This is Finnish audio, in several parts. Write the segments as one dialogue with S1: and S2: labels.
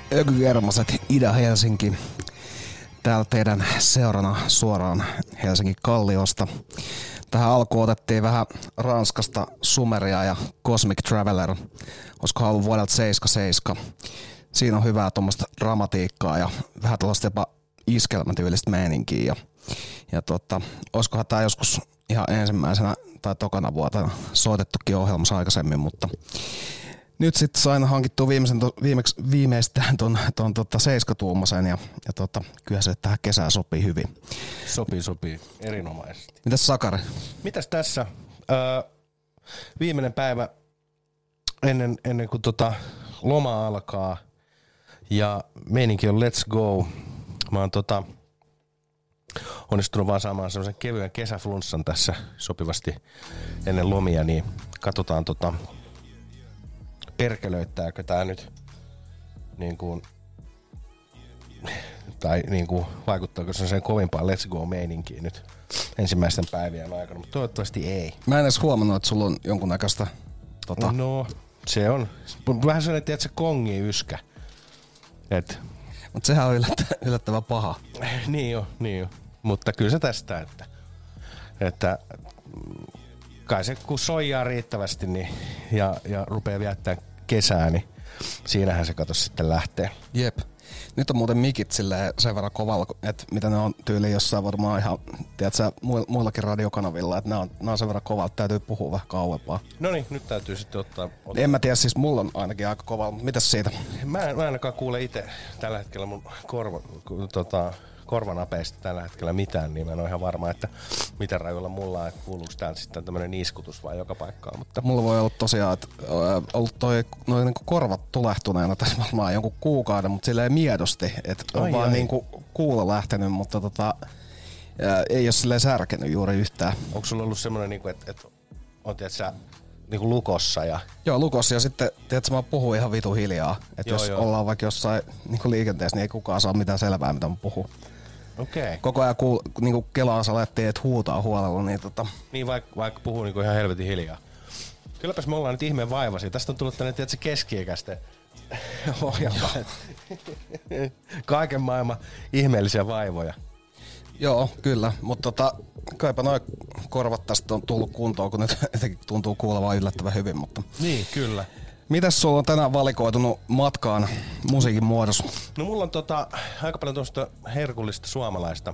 S1: Ökygermaset Ida-Helsinki. Täällä teidän seurana suoraan Helsingin Kalliosta. Tähän alkuun otettiin vähän Ranskasta Sumeria ja Cosmic Traveler. Olisiko ollut vuodelta 77. Siinä on hyvää tuommoista dramatiikkaa ja vähän tällaista jopa iskelmätyylistä meininkiä. Ja olisikohan tää joskus ihan ensimmäisenä tai tokana vuotena soitettukin ohjelmassa aikaisemmin, mutta nyt sitten sain hankittua viimeistään ton 7-tuumaisen ja kyllä se tähän kesään sopii hyvin.
S2: Sopii. Erinomaisesti.
S1: Mitäs Sakari?
S2: Mitäs tässä? Viimeinen päivä ennen kuin loma alkaa ja meininki on let's go. Mä oon onnistunut vaan saamaan semmoisen kevyen kesäflunssan tässä sopivasti ennen lomia, niin katsotaan perkelöittääkö tää nyt niin kuin vaikuttaako se sen kovimpaan let's go meininkiin nyt ensimmäisten päivien aikana, mutta toivottavasti ei.
S1: Mä en edes huomannut, että sulla on jonkunnäköistä
S2: No, se on vähän sellainen, että se kongii yskä.
S1: Mutta sehän on yllättävän paha.
S2: Niin jo. Mutta kyllä se tästä, että kai se kun soijaa riittävästi niin, ja rupeaa viettää kesää, niin siinähän se kato sitten lähtee.
S1: Jep. Nyt on muuten mikit sen verran kovalla, että mitä ne on tyyliin jossain varmaan ihan, tiedätkö, muillakin radiokanavilla, että ne on sen verran kovalla, että täytyy puhua vähän kauempaa.
S2: No niin, nyt täytyy sitten ottaa.
S1: En mä tiedä, siis mulla on ainakin aika kovalla, mutta mitäs siitä?
S2: Mä en ainakaan kuule itse tällä hetkellä mun korvanapeista tällä hetkellä mitään, niin mä en ole ihan varma, että miten rajoilla mulla on, että kuuluuko täältä sitten tämmönen niiskutus vai joka paikkaan. Mutta
S1: mulla voi olla tosiaan, että ollut noin niinku korvat tulehtuneena tässä varmaan jonkun kuukauden, mutta silleen miedosti, että on vaan niinku kuulo lähtenyt, mutta ei ole silleen särkenyt juuri yhtään.
S2: Onko sulla ollut semmoinen, niinku, että on tiedätkö, niinku lukossa ja...
S1: Joo, lukossa ja sitten, tiedätkö, mä puhun ihan vitu hiljaa. Että jos ollaan vaikka jossain niinku liikenteessä, niin ei kukaan saa mitään selvää, mitä mä puhun.
S2: Okei.
S1: Koko ajan niinku kelaa salettiin, että huutaa huolella, niin
S2: Niin vaikka puhuu niinku ihan helvetin hiljaa. Kylläpäs me ollaan nyt ihmeen vaivaisia. Tästä on tullut tänne, tiedätkö, keski-ikäisten ohjelma. Kaiken maailman ihmeellisiä vaivoja.
S1: Joo, kyllä, mutta kaipa noi korvat tästä on tullut kuntoon, kun nyt jotenkin tuntuu kuulevaa yllättävän hyvin, mutta...
S2: Niin, kyllä.
S1: Mitäs sulla on tänään valikoitunut matkaan musiikin muodossa?
S2: No mulla on aika paljon tuosta herkullista suomalaista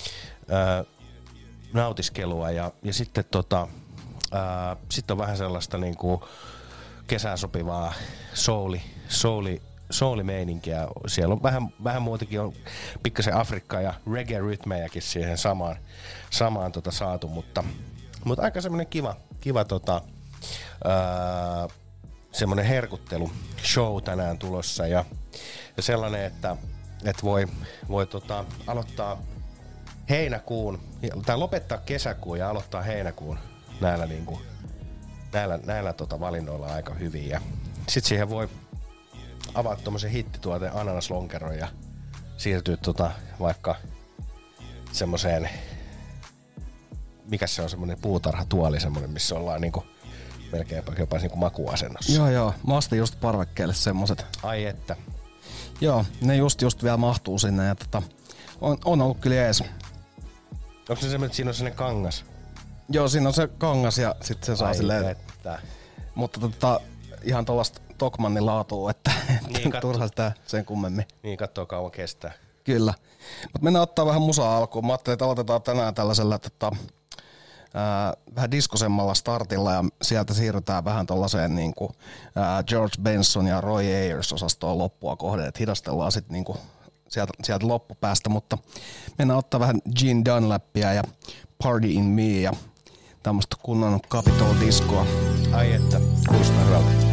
S2: nautiskelua ja sitten sit on vähän sellaista niinku kesään sopivaa soulimeininkiä. Siellä on vähän muutenkin on pikkasen Afrikkaa ja reggae-rytmejäkin siihen samaan saatu, mutta aika semmoinen kiva semmoinen herkuttelu show tänään tulossa ja sellainen, että voi aloittaa heinäkuun tai lopettaa kesäkuun ja aloittaa heinäkuun näillä valinnoilla aika hyvin ja sit siihen voi avaa tommosen hittituote ananaslonkeron ja siirtyä vaikka semmoseen, mikä se on, semmonen puutarhatuoli semmonen, missä ollaan niinku melkeinpä jopa niinku makuasennossa.
S1: Joo, mä ostin just parvekkeelle semmoset.
S2: Ai että.
S1: Joo, ne just vielä mahtuu sinne ja on ollut kyllä jees.
S2: Onko se semmonen, että siinä on sellainen kangas?
S1: Joo, siinä on se kangas ja sit se saa silleen.
S2: Että.
S1: Mutta ihan tollaista Tokmannin laatua, että
S2: niin,
S1: turha sitä sen kummemmin.
S2: Niin, kattoo kauan kestää.
S1: Kyllä. Mutta mennään ottaa vähän musaa alkuun. Mä ajattelin, että aloitetaan tänään tällaisella vähän diskosemmalla startilla ja sieltä siirrytään vähän tollaiseen niinku George Benson ja Roy Ayers osastoon loppua kohden, että hidastellaan sitten niinku sieltä loppupäästä, mutta mennään ottaa vähän Gene Dunlapia ja Party in Me ja tämmöistä kunnon Capitol Discoa.
S2: Ai että, kuulostaa hyvältä.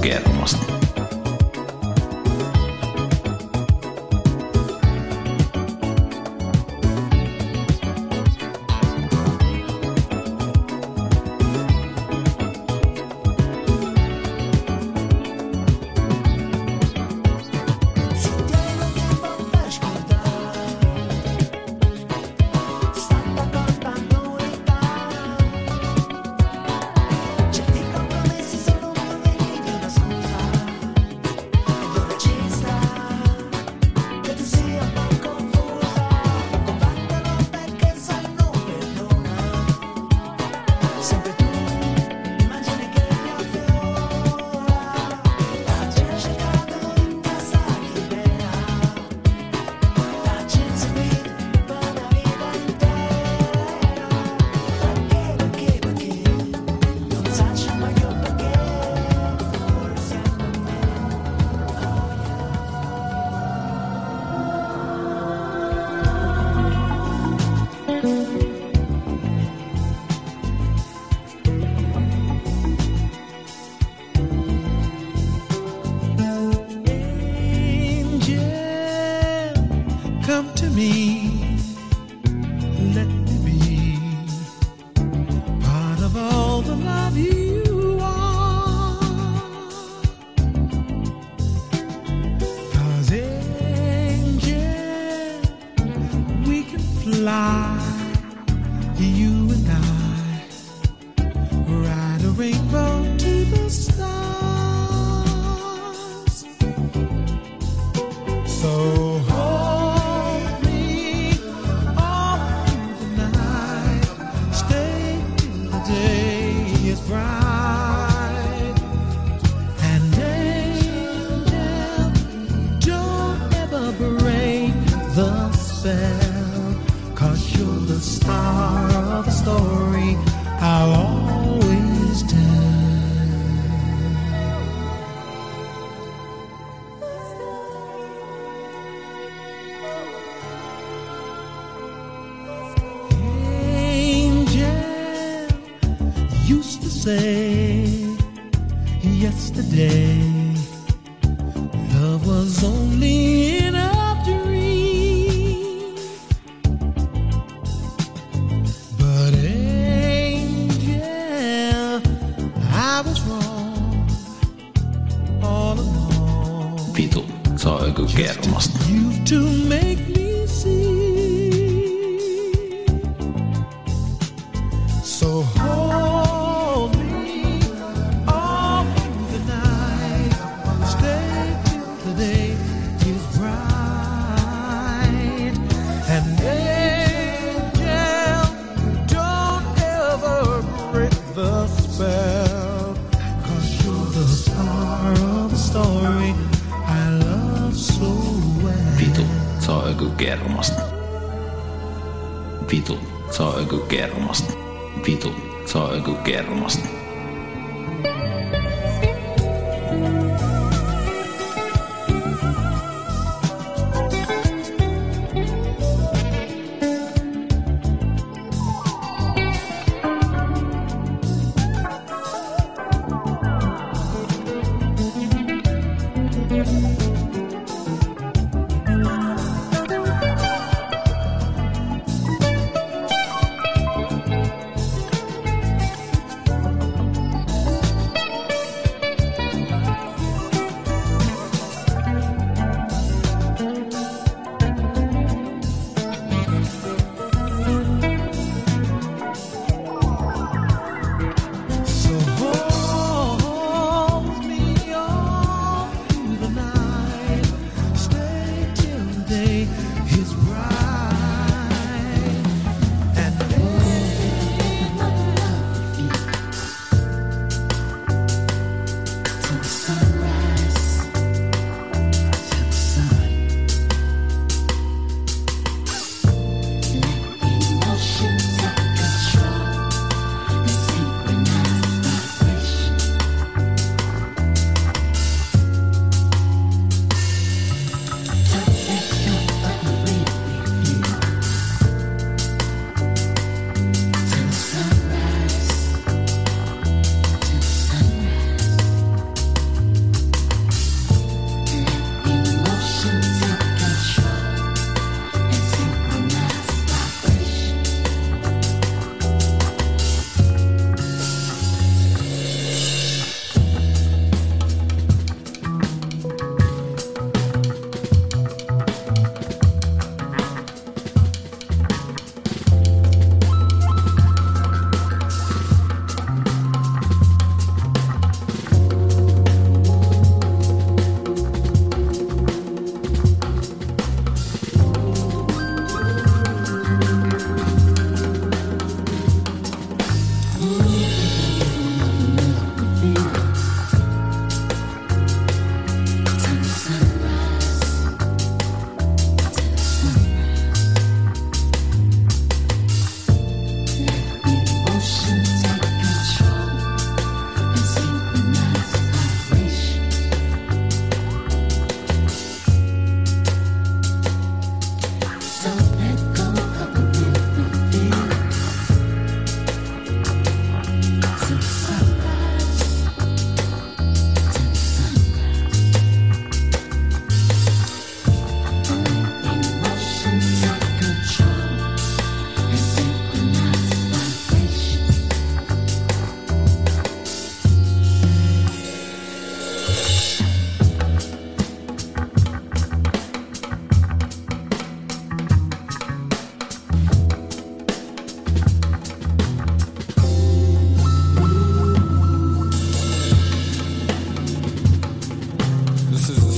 S3: kermasta.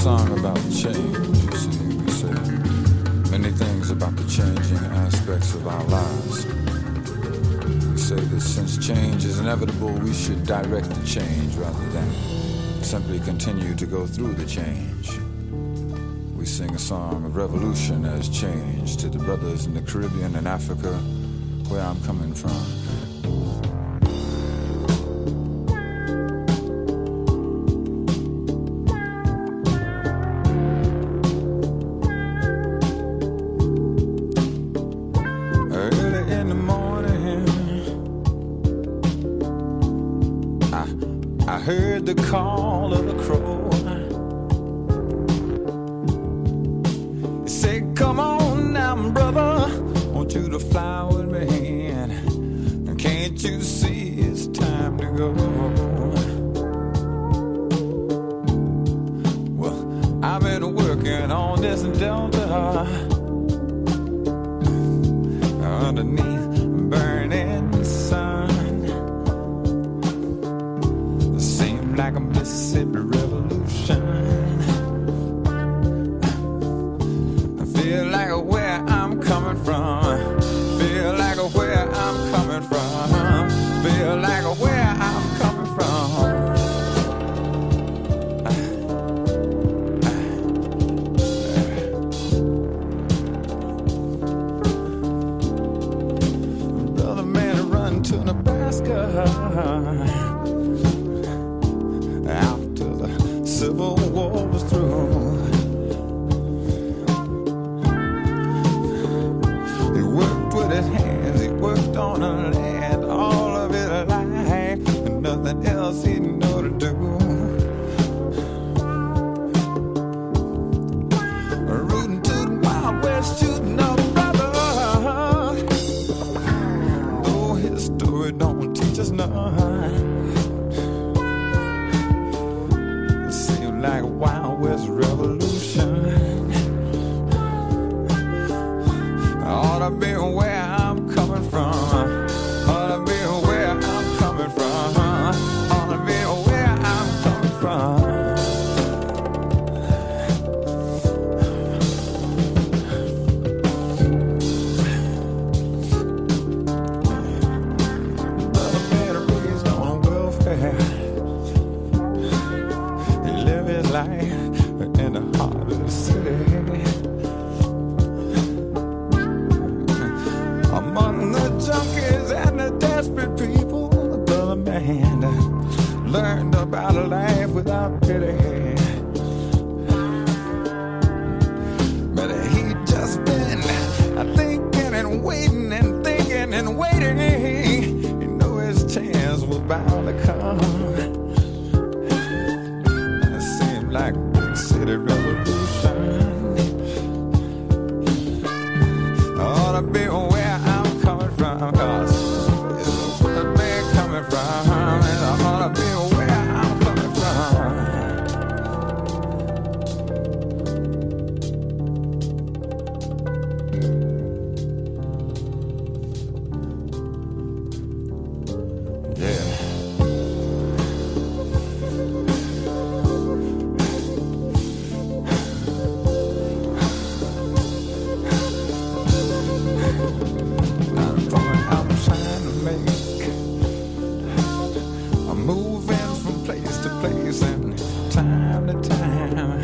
S3: song about change, you see. We say many things about the changing aspects of our lives. We say that since change is inevitable, we should direct the change rather than simply continue to go through the change. We sing a song of revolution as change to the brothers in the Caribbean and Africa, where I'm coming from. Early in the morning, I heard the call of a crow. He said, come on now, brother, want you to fly with me, and can't you see it's time to go? Well, I've been working on this Delta underneath burning sun. Seemed like a Mississippi revolution. I feel like where I'm coming from. Feel like where I'm coming from. Feel like where I'm coming from. Brother man run to Nebraska after the Civil War was through. He worked with his hands, he worked on the land all of his life, and nothing else he knew to do. Rooting to the Wild West, shooting up brother. Though his story don't teach us none. It seemed like a Wild West revolution. Ought to be where I'm coming from. Ought to be where I'm coming from. Ought to be where I'm coming from. Brother man raised on welfare. He lived his life in the heart of the city. Among the junkies and the desperate people, the brother man learned about a life without pity. But he just been thinking and waiting and thinking and waiting. He knew his chance was bound to come. It seemed like a big city revolution. Ought to be where I'm coming from, 'cause it's where they're coming from, and I ought to be where I'm coming from. Yeah. Not a point I'm trying to make. I'm moving from place to place and time to time.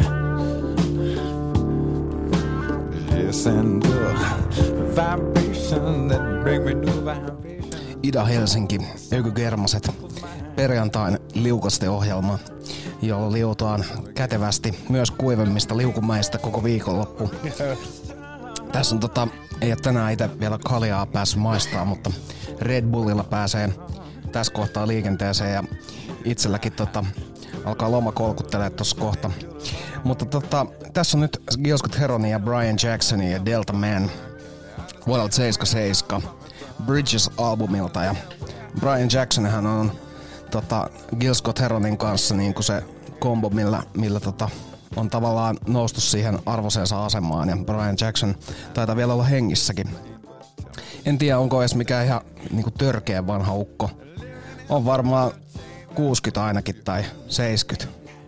S3: Yes, and the vibration that bring me new vibration.
S1: Ida-Helsinki, Ökygermaset, perjantain liukasteohjelma, jolla liutaan kätevästi myös kuivemmista liukumäistä koko viikonloppu. Tässä on ei ole tänään itse vielä kaljaa päässyt maistaa, mutta Red Bullilla pääsee tässä kohtaa liikenteeseen ja itselläkin alkaa loma kolkuttelee tossa kohta. Mutta tässä on nyt Gil Scott-Heronin ja Brian Jacksonin ja Delta Man vuodelta 77 Bridges-albumilta, ja Brian Jacksonhan on Gil Scott-Heronin kanssa niinku se kombo, millä on tavallaan noustu siihen arvoisensa asemaan, ja Brian Jackson taitaa vielä olla hengissäkin. En tiedä, onko edes mikään ihan niinku törkeä vanha ukko. On varmaan 60 ainakin tai 70.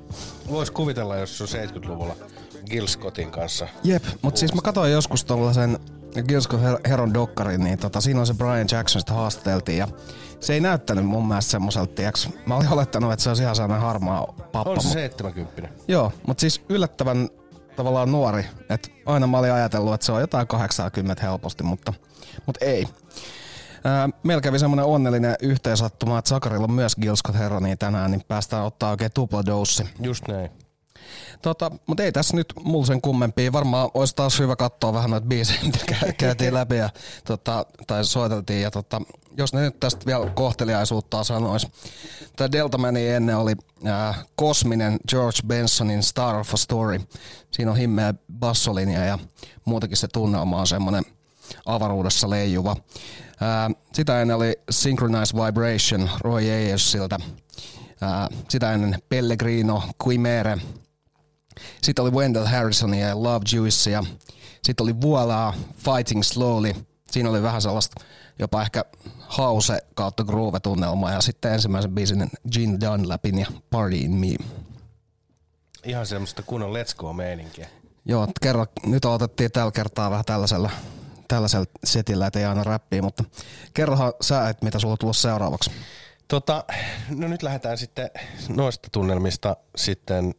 S2: vois kuvitella, jos se on 70-luvulla Gil Scottin kanssa.
S1: Jep, mutta siis mä katsoin joskus tollasen Gil Scott Heron dokkarin, niin siinä on se Brian Jackson, sitä haastateltiin ja se ei näyttänyt mun mielestä semmoiselta, tiiäks. Mä olin olettanut, että se olisi ihan sellainen harmaa pappa.
S2: On se 70.
S1: Joo, mutta siis yllättävän tavallaan nuori. Et aina mä olin ajatellut, että se on jotain 80 helposti, mutta ei. Meillä kävi semmoinen onnellinen yhteensattuma, että Sakarilla on myös Gil Scott Heronia tänään, niin päästään ottaa oikein tupladoussi.
S2: Just näin.
S1: Mutta ei tässä nyt mulla sen kummempia. Varmaan olisi taas hyvä katsoa vähän noita biisejä, mitä käytiin läpi ja tai soiteltiin. Ja jos ne nyt tästä vielä kohteliaisuutta sanois. Tämä Deltamani ennen oli kosminen George Bensonin Star of a Story. Siinä on himmeä bassolinja ja muutenkin se tunnelma on semmoinen avaruudessa leijuva. Sitä ennen oli Synchronized Vibration Roy Ayersilta. Sitä ennen Pellegrino, Quimere. Sitten oli Wendell Harrisonia ja Love Juicea. Sitten oli Voila, Fighting Slowly. Siinä oli vähän sellaista jopa ehkä house kautta groove-tunnelmaa. Ja sitten ensimmäisen biisin Gene Dunlapin ja Party in Me.
S2: Ihan semmoista kunnon let's go-meininkiä.
S1: Joo, nyt otettiin tällä kertaa vähän tällaisella setillä, ettei aina räppiä, mutta kerrohan sä, että mitä sulla on tullut seuraavaksi.
S2: No nyt lähdetään sitten noista tunnelmista sitten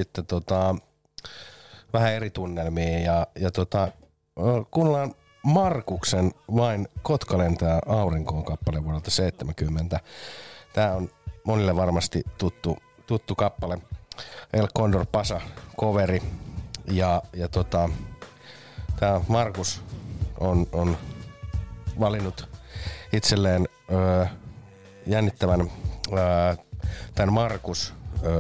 S2: vähän eri tunnelmiin ja kuunnellaan Markuksen Vain Kotka lentää aurinkoon kappale vuodelta 70. Tää on monille varmasti tuttu kappale. El Condor Pasa coveri ja tää Markus on valinnut itselleen jännittävän tämän Markus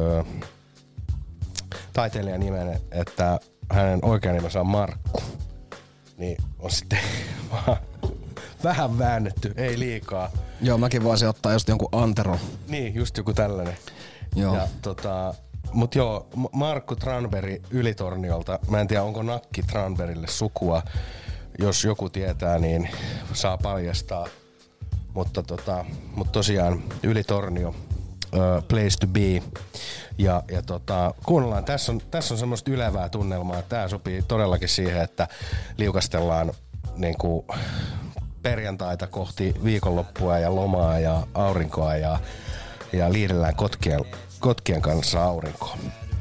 S2: taiteilijan nimen, että hänen oikea nimensä on Markku. Niin on sitten vähän väännetty, ei liikaa.
S1: Joo, mäkin voisin ottaa just jonkun Antero.
S2: Niin, just joku tällainen.
S1: Joo.
S2: Ja mut joo, Markku Tranberg Ylitorniolta. Mä en tiedä, onko Nakki Tranbergille sukua. Jos joku tietää, niin saa paljastaa. Mutta tosiaan Ylitornio, place to be. Ja kuunnellaan, tässä on semmoista ylevää tunnelmaa. Tää sopii todellakin siihen, että liukastellaan niinku perjantaita kohti viikonloppua ja lomaa ja aurinkoa ja liidellään kotkien kanssa aurinkoon.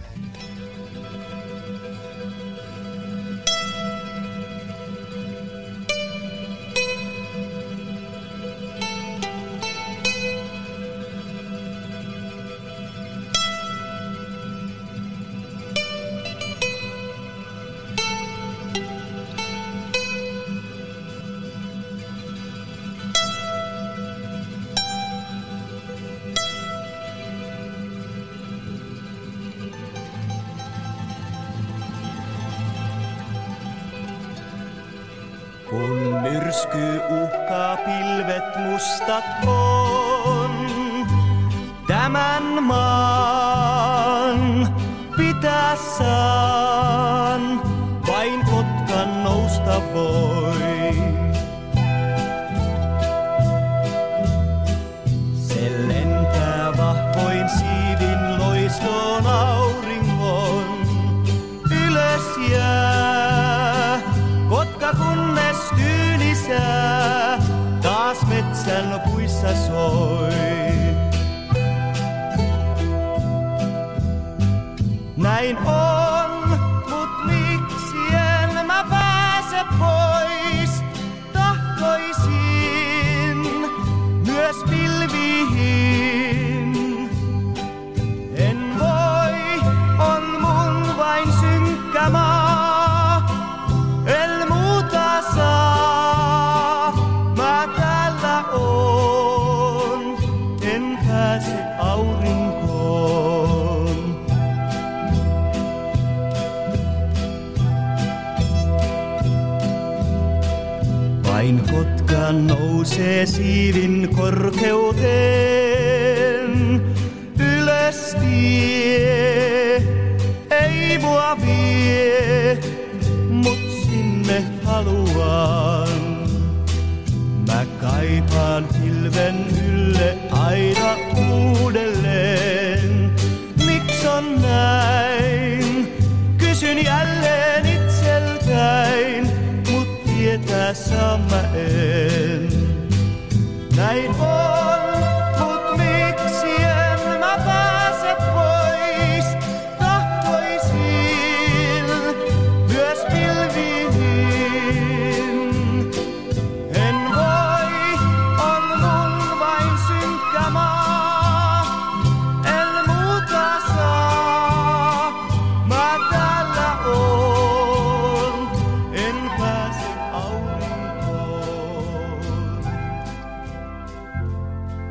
S4: Kun myrsky uhkaa pilvet mustat on, tämän maan pitää saan, vain Kotkan nousta voi. Se lentää vahvoin siivin loistoon auringon, ylös jää Kotka kunnes tyylisää, taas metsän puissa soi. Näin on, mut miksi en mä pääse pois? Tahtoisin myös pilviin. En voi, on mun vain synkkä maa. En muuta saa, mä täällä oon. En pääse aurinkoon. Vain Kotka nousee siivin korkeuteen. Ylös tie, ei mua vie, mut sinne haluan. Mä kaipaan pilven ylle aina uudelleen. Miks on näin? Kysyn jälleen itseltäin, mut tietää saan mä en. Näin on, mut miksi en mä pääse pois? Tahtoisin myös pilviin. En voi, on mun vain synkkä maa. En muuta saa, mä täällä oon. En pääse aurinkoon.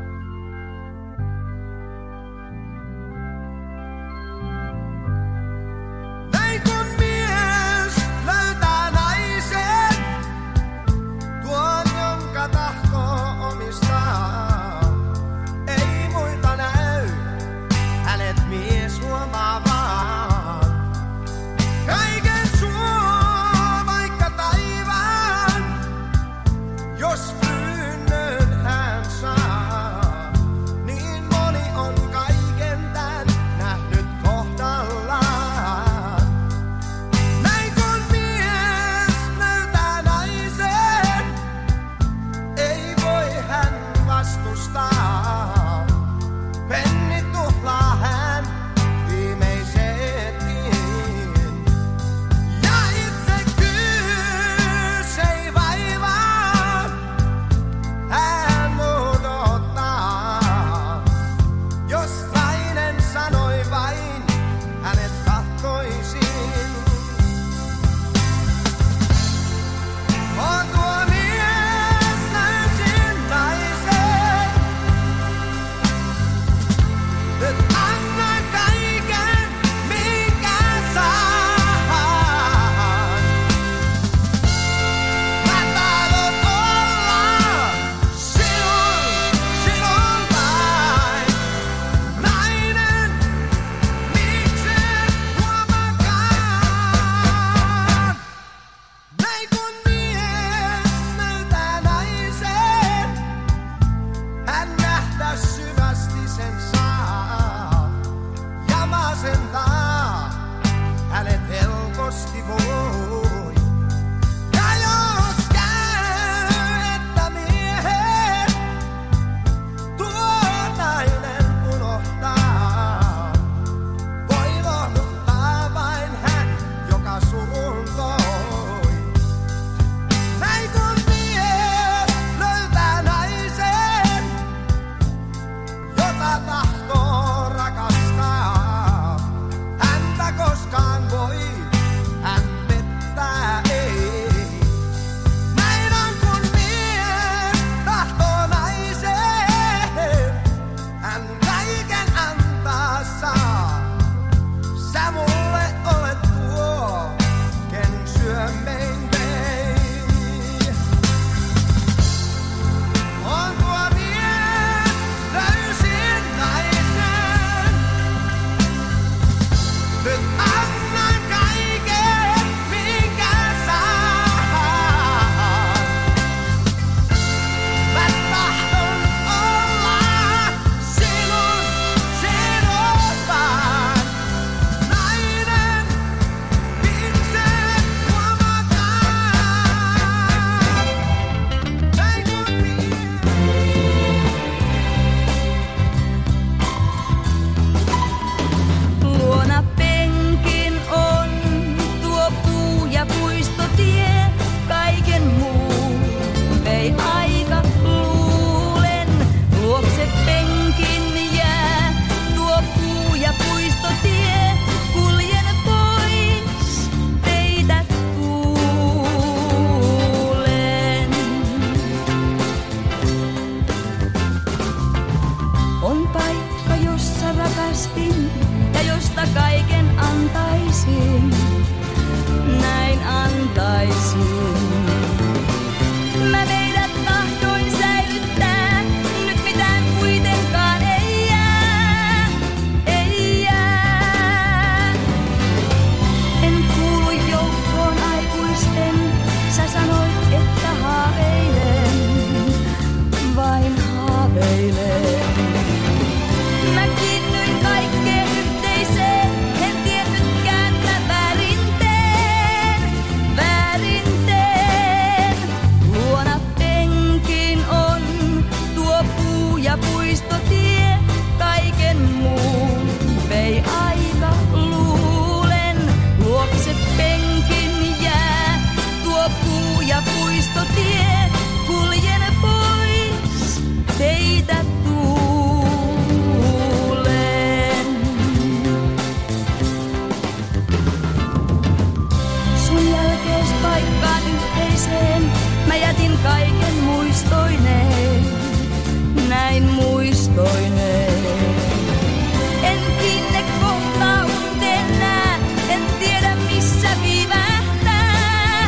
S5: paikkaan yhteiseen. Mä jätin kaiken muistoineen, näin muistoineen. En kiinne kohtaa unteen nää, en tiedä missä viivähtää,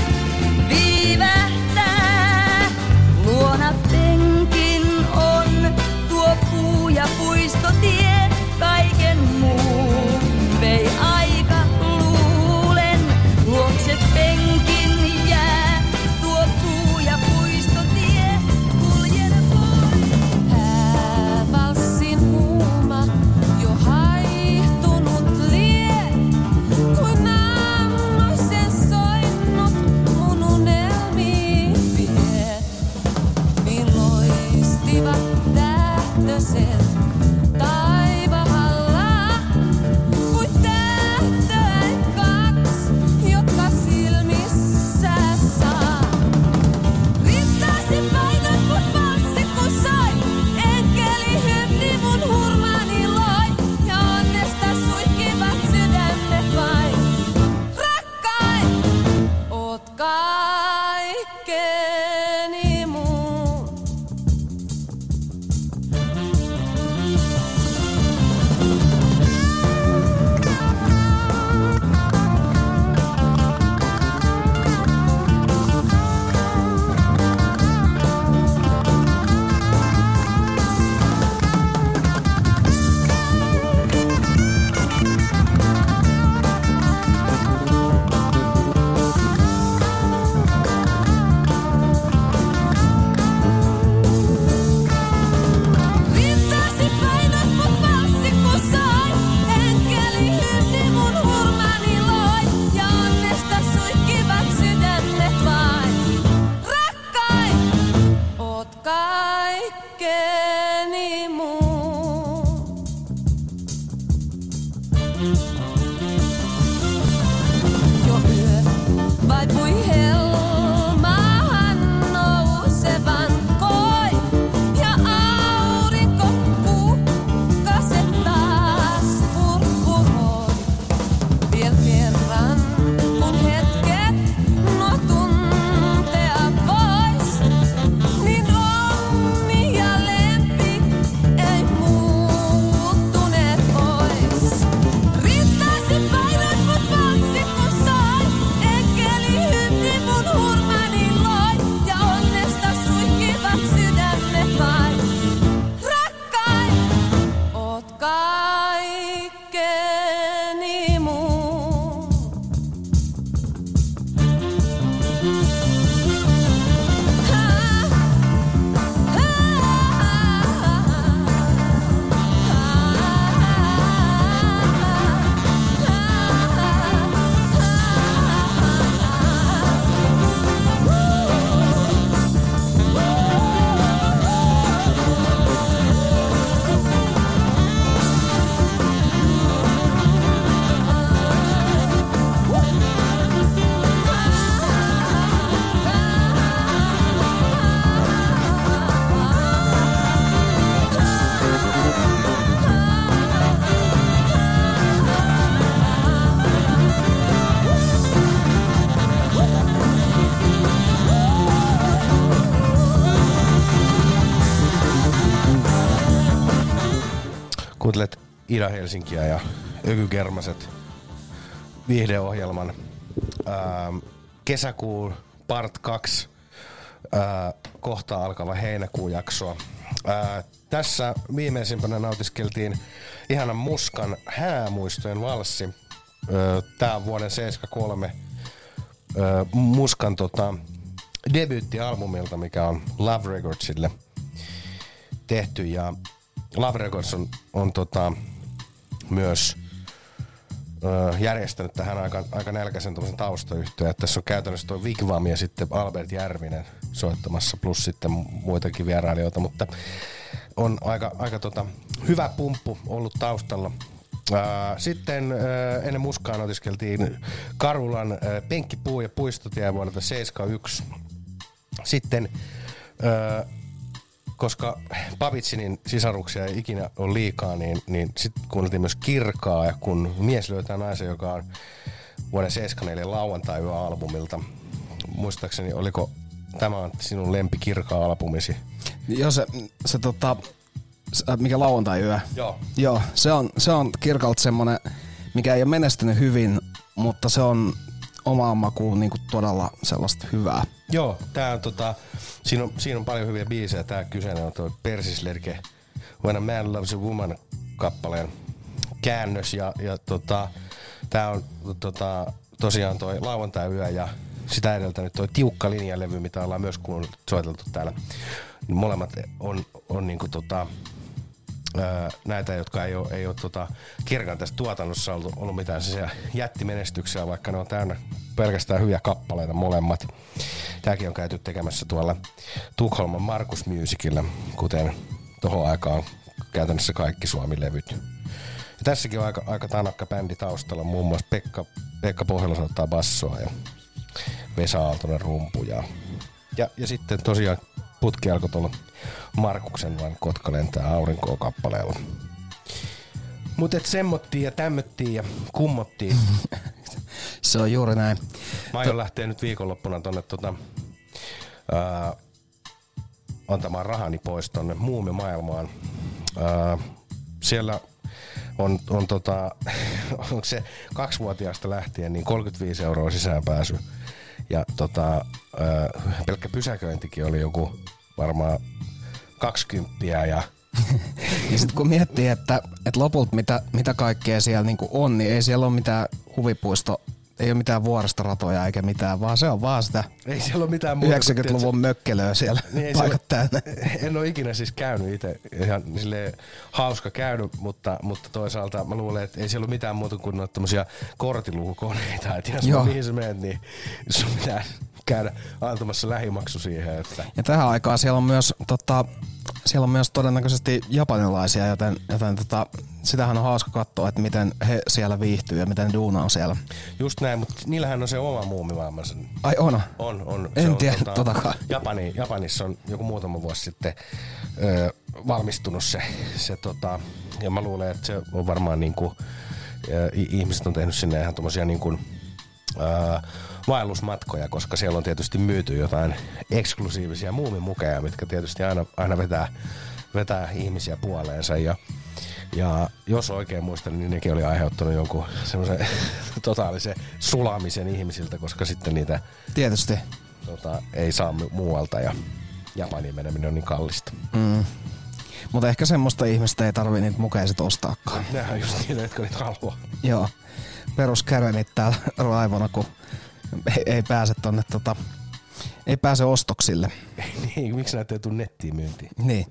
S5: viivähtää. Luona penkin on tuo puu ja puistotie, kaiken muun vei aika luulen. Luokse penkin jää tuo puu ja puistotie, kuljen pois.
S6: Häävalssin huuma jo haihtunut lie, kuin aamuisen soinnut mun unelmiin vie. Loistivat tähtöset taivahalla, kuin tähtöjen kaks, jotka silmissä saa. Riittäisi painat mut valssi kun sai, enkeli hymni mun hurmaani loi, ja onnesta suihkivat sydämet vain. Rakkain, oot kaikkeni mun. Riittäisi painat mut valssi kun sai, enkeli hymni mun hurmaani loi, ja onnesta suihkivat sydämet vain. Rakkain, oot kaikkeni mun. Jo yö vaipui helmaahan nousevan koi, ja aurinko kukkaset taas purpuroi. Viel kerran kun hetket nuo tuntea vois, niin onni ja lempi ei muuttuneet pois. Riittäisi painat mut valssi kun sai, enkeli hymni mun hurmaani loi, ja onnesta suihkivat sydämet vain. Rakkain, oot kaikkeni mun.
S2: Kuuntelet Ida-Helsinkiä ja Ökygermaset viihdeohjelman kesäkuun part 2 kohta alkava heinäkuun jaksoa. Tässä viimeisimpänä nautiskeltiin ihanan Muskan Häämuistojen valssi. Tää on vuoden 73 Muskan debyyttialbumilta, mikä on Love Recordsille tehty, ja Love Records on myös järjestänyt tähän aika nälkäisen taustayhtyön. Tässä on käytännössä tuo Wigwam ja sitten Albert Järvinen soittamassa, plus sitten muitakin vierailijoita, mutta on aika hyvä pumppu ollut taustalla. Sitten ennen Muskaa nautiskeltiin Karulan Penkkipuu ja puistotie vuodelta 71. Sitten koska Babitsinin sisaruksia ei ikinä ole liikaa, niin sitten kuunneltiin myös Kirkaa, ja kun mies löytää naisen, joka on vuoden 74 lauantai-yö-albumilta muistaakseni, oliko tämä on sinun lempikirka-albumisi?
S1: Joo, mikä lauantai-yö. Joo, se on Kirkalta semmonen, mikä ei ole menestynyt hyvin, mutta se on omaan makuun niinku todella sellaista hyvää.
S2: Joo, tää on siinä on paljon hyviä biisejä. Tää kyseinen on tuo Persislerke When a Man Loves a Woman -kappaleen käännös ja tää on tosiaan toi lauantai-yö ja sitä edeltänyt toi Tiukka linjalevy, mitä ollaan myös soiteltu täällä. Molemmat on niinku näitä, jotka ei ole Kirkan tässä tuotannossa ollut mitään jättimenestyksiä, vaikka ne on täynnä pelkästään hyviä kappaleita molemmat. Tääkin on käyty tekemässä tuolla Tukholman Markus Musicilla, kuten tohon aikaan käytännössä kaikki Suomi-levyt. Ja tässäkin on aika tanakka bändi taustalla, muun muassa Pekka Pohjola soittaa bassoa ja Vesa Aaltonen rumpuja. Ja sitten tosiaan putki alkoi tuolla Markuksen Vain Kotka lentää aurinkoa -kappaleella. Mut et semmottiin ja tämmöttiin ja kummottiin.
S1: Se on juuri näin.
S2: Mä aion lähteä nyt viikonloppuna tonne antamaan rahani pois tonne muumimaailmaan. Siellä on onko se 2-vuotiaasta lähtien niin 35 € sisäänpääsy. Ja pelkkä pysäköintikin oli joku varmaan 20 ja
S1: sit kun miettii, että lopulta mitä kaikkea siellä niinku on, niin ei siellä ole mitään huvipuisto, ei ole mitään vuoristoratoja eikä mitään, vaan se on vaan sitä
S2: ei siellä ole mitään muuta
S1: 90-luvun mökkelöä siellä niin paikat täynnä.
S2: En ole ikinä siis käynyt itse, ihan silleen hauska käynyt, mutta toisaalta mä luulen, että ei siellä ole mitään muuta kuin noita tämmösiä kortilukukoneita, että jos mihin sä menet, niin sun pitää käydä antamassa lähimaksu siihen. Että.
S1: Ja tähän aikaan siellä on myös todennäköisesti japanilaisia, joten sitähän on hauska katsoa, että miten he siellä viihtyy ja miten duuna on siellä.
S2: Just näin, mutta niillähän on se oma muumimaailmansa.
S1: Ai on?
S2: On.
S1: En tiedä totakaan.
S2: Japanissa on joku muutama vuosi sitten valmistunut se ja mä luulen, että se on varmaan niinku, ihmiset on tehnyt sinne ihan tommosia niinku vaellusmatkoja, koska siellä on tietysti myyty jotain eksklusiivisia muumimukeja, mitkä tietysti aina vetää ihmisiä puoleensa ja jos oikein muistan, niin nekin oli aiheuttanut jonkun semmoisen totaalisen sulamisen ihmisiltä, koska sitten niitä
S1: tietysti
S2: ei saa muualta ja Japaniin meneminen on niin kallista.
S1: Mutta ehkä semmoista ihmistä ei tarvii niitä mukeja sit ostaakaan.
S2: Nehän on just niitä, jotka niitä haluaa.
S1: Joo. Peruskärenit täällä raivona, kun ei pääse tonne ei pääse ostoksille.
S2: Niin, miksi näitä ei tule nettiin myyntiin?
S1: Niin.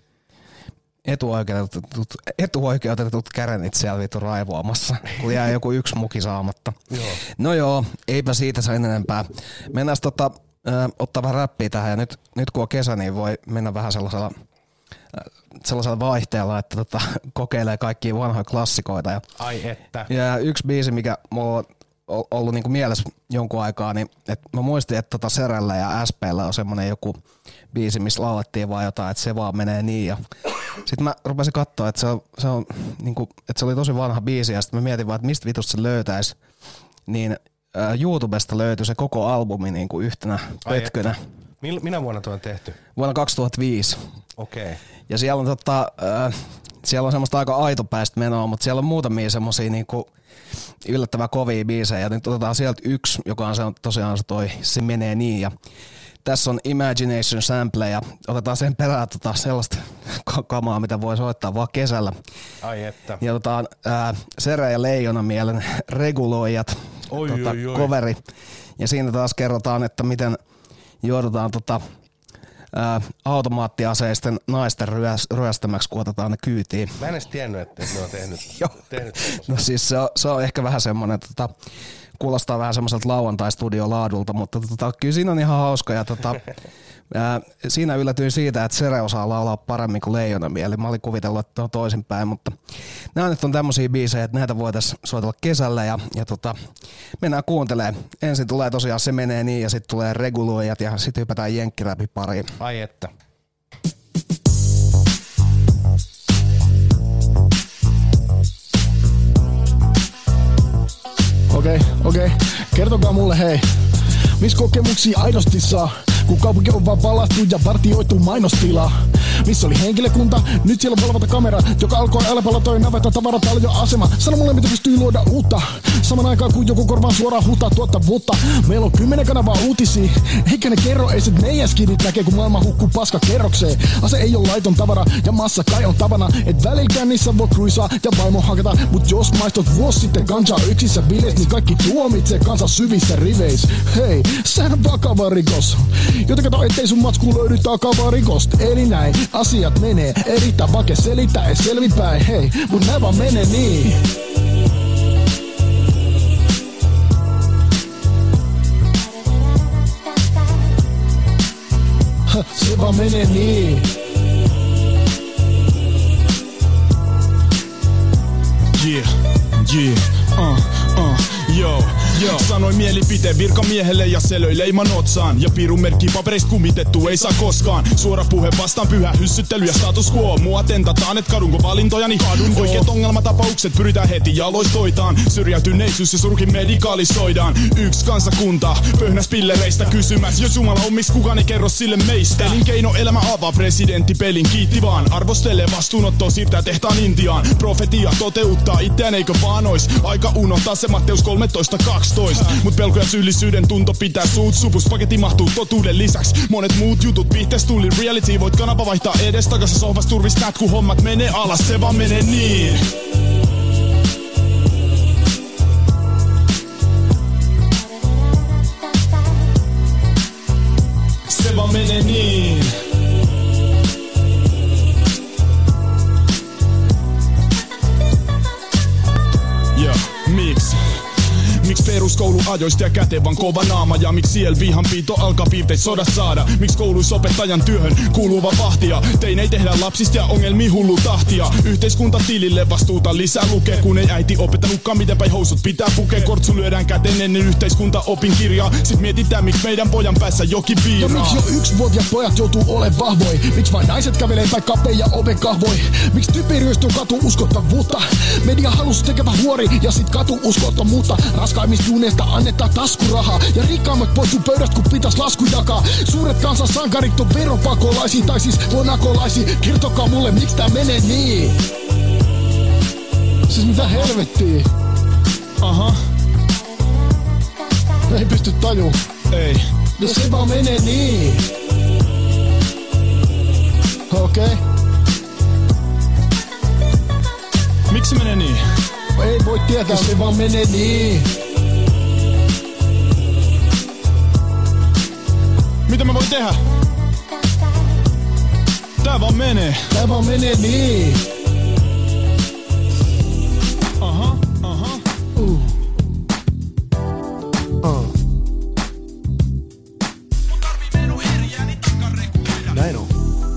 S1: Etuoikeutetut kärenit siellä vittu raivoamassa, kun jää joku yksi muki saamatta.
S2: Joo.
S1: No joo, eipä siitä sen enempää. Mennään ottaa vähän räppiä tähän ja nyt kun on kesä, niin voi mennä vähän sellaisella vaihteella, että kokeilee kaikkia vanhoja klassikoita.
S2: Ai että.
S1: Ja yksi biisi, mikä mulla on ollut niinku mielessä jonkun aikaa, niin että mä muistin, että Serällä ja SP:llä on semmonen joku biisi, missä laulettiin vaan jotain, että se vaan menee niin. Ja sitten mä rupesin katsoa, että se on niinku, että se oli tosi vanha biisi ja sitten mä mietin vaan, että mistä vitusta se löytäisi. Niin YouTubesta löytyi se koko albumi niinku yhtenä pötkönä.
S2: Minä vuonna tuo on tehty?
S1: Vuonna 2005.
S2: Okei. Okay.
S1: Ja siellä on siellä on semmoista aika aitopäistä menoa, mutta siellä on muutamia semmosia niinku yllättävän kovia biisejä. Ja nyt otetaan sieltä yksi, joka on tosiaan se menee niin. Ja tässä on Imagination Sample ja otetaan sen perään sellaista kamaa, mitä voi soittaa vaan kesällä.
S2: Ai että.
S1: Ja otetaan Serä ja Leijonamielen Reguloijat coveri. Ja siinä taas kerrotaan, että miten joudutaan automaattiaseisten naisten ryöstämäksi, kun otetaan ne kyytiin.
S2: Mä en edes tiennyt, että ne on tehnyt.
S1: No siis se on ehkä vähän semmoinen, kuulostaa vähän semmoiselta lauantai-studiolaadulta, mutta kyllä siinä on ihan hauska. Ja siinä yllätyin siitä, että Sere osaa laulaa paremmin kuin Leijonamieli. Mä olin kuvitellut, että on toisinpäin, mutta nämä nyt on tämmöisiä biisejä, että näitä voitaisiin soitella kesällä ja mennään kuuntelemaan. Ensin tulee tosiaan Se menee niin ja sitten tulee Reguloijat ja sitten hypätään jenkkiräpi pariin.
S2: Ai että.
S7: Okei. Kertokaa mulle hei. Miss kokemuksia aidosti saa, kun kaupunki on vaan valastu ja vartioitu mainostila. Missä oli henkilökunta, nyt siellä on valvontakamera, joka alkoi älpällä toi navetta tavarataljo-asema. Sano mulle, mitä pystyy luoda uutta, saman aikaan kun joku korvaan suoraan huutaa tuottavuutta. Meillä on 10 kanavaa uutisia, eikä ne kerro ees, et meidän skidit näkee, kun maailma hukkuu paska kerrokseen. Ase ei ole laiton tavara, ja massa kai on tavana, et välilläkään niissä voi cruisaa ja vaimo hakata. Mut jos maistot vuosi sitten kansaa yksissä bileissä, niin kaikki tuomitsee kansan syvissä riveissä. Hei, sehän on vakava rikos, joten kato ettei sun matsku löydy takavaa rikosta. Eli näin asiat menee, erittäin vaikea selittää ei selvipäin. Hei, mut nää vaan menee niin. Se vaan menee niin. Yo. Sanoin mielipiteen virkamiehelle ja se löi leiman otsaan. Ja pirun merkki papereista kumitettu ei saa koskaan. Suora puhe vastaan pyhä hyssyttely ja status quo. Mua tentataan, et kadunko valintojani kadun. Oikeet ongelmatapaukset pyritään heti jaloistoitaan. Syrjäytyneisyys ja surkin medikaalisoidaan. Yksi kansakunta pöhnäs pillereistä kysymäs. Jos Jumala on miks kukaan ei kerro sille meistä. Elinkeinoelämä avaa presidentti pelin, kiitti vaan. Arvostelee vastuunottoa, siirtää tehtaan Intiaan. Profetia toteuttaa itseään, eikö vaan ois aika unohtaa se Matteus 13:12. Mut pelko ja syyllisyyden tunto pitää suut supus. Paketti mahtuu totuuden lisäks monet muut jutut. Vihtees tuli reality, voit kanava vaihtaa edes takas. Sohvas turvis näet kun hommat menee alas, se vaan menee niin. Se vaan menee niin. Miksi peruskouluajoista ja kätevän kova naama? Ja miksi siellä vihanpito alkaa piirteit sodat saada? Miksi kouluissa opettajan työhön kuuluu vaan vahtia? Tein ei tehdä lapsista ja ongelmia hullu tahtia. Yhteiskunta tilille vastuuta lisää lukee, kun ei äiti opettanutkaan miten päin housut pitää pukea. Kortsu lyödään käteen ennen yhteiskunta opinkirjaa. Sit mietitään miksi meidän pojan päässä jokin viiraa. Ja miksi jo 1-vuotiaat pojat joutuu ole vahvoi? Miksi vain naiset kävelee tai kapeja oven kahvoi? Miksi typi ryöstyy katu uskottavuutta? Media halus tekevä huori ja sit katu uskottomuutta. Raskaimmista juneista annetaan taskurahaa ja rikkaammat poistuu pöydästä kun pitäis lasku jakaa. Suuret kansan sankarit on veropakolaisia tai siis monakolaisia. Kertokaa mulle miksi tää menee niin. Siis mitä helvettiä? Aha. Ei pysty tajuu. Ei. No se vaan menee niin. Okei. Miksi se menee niin? Ei voi tietää, se vaan menee niin. Mitä mä voin tehdä? Tää vaan menee. Tää vaan menee niin. Aha. Näin on.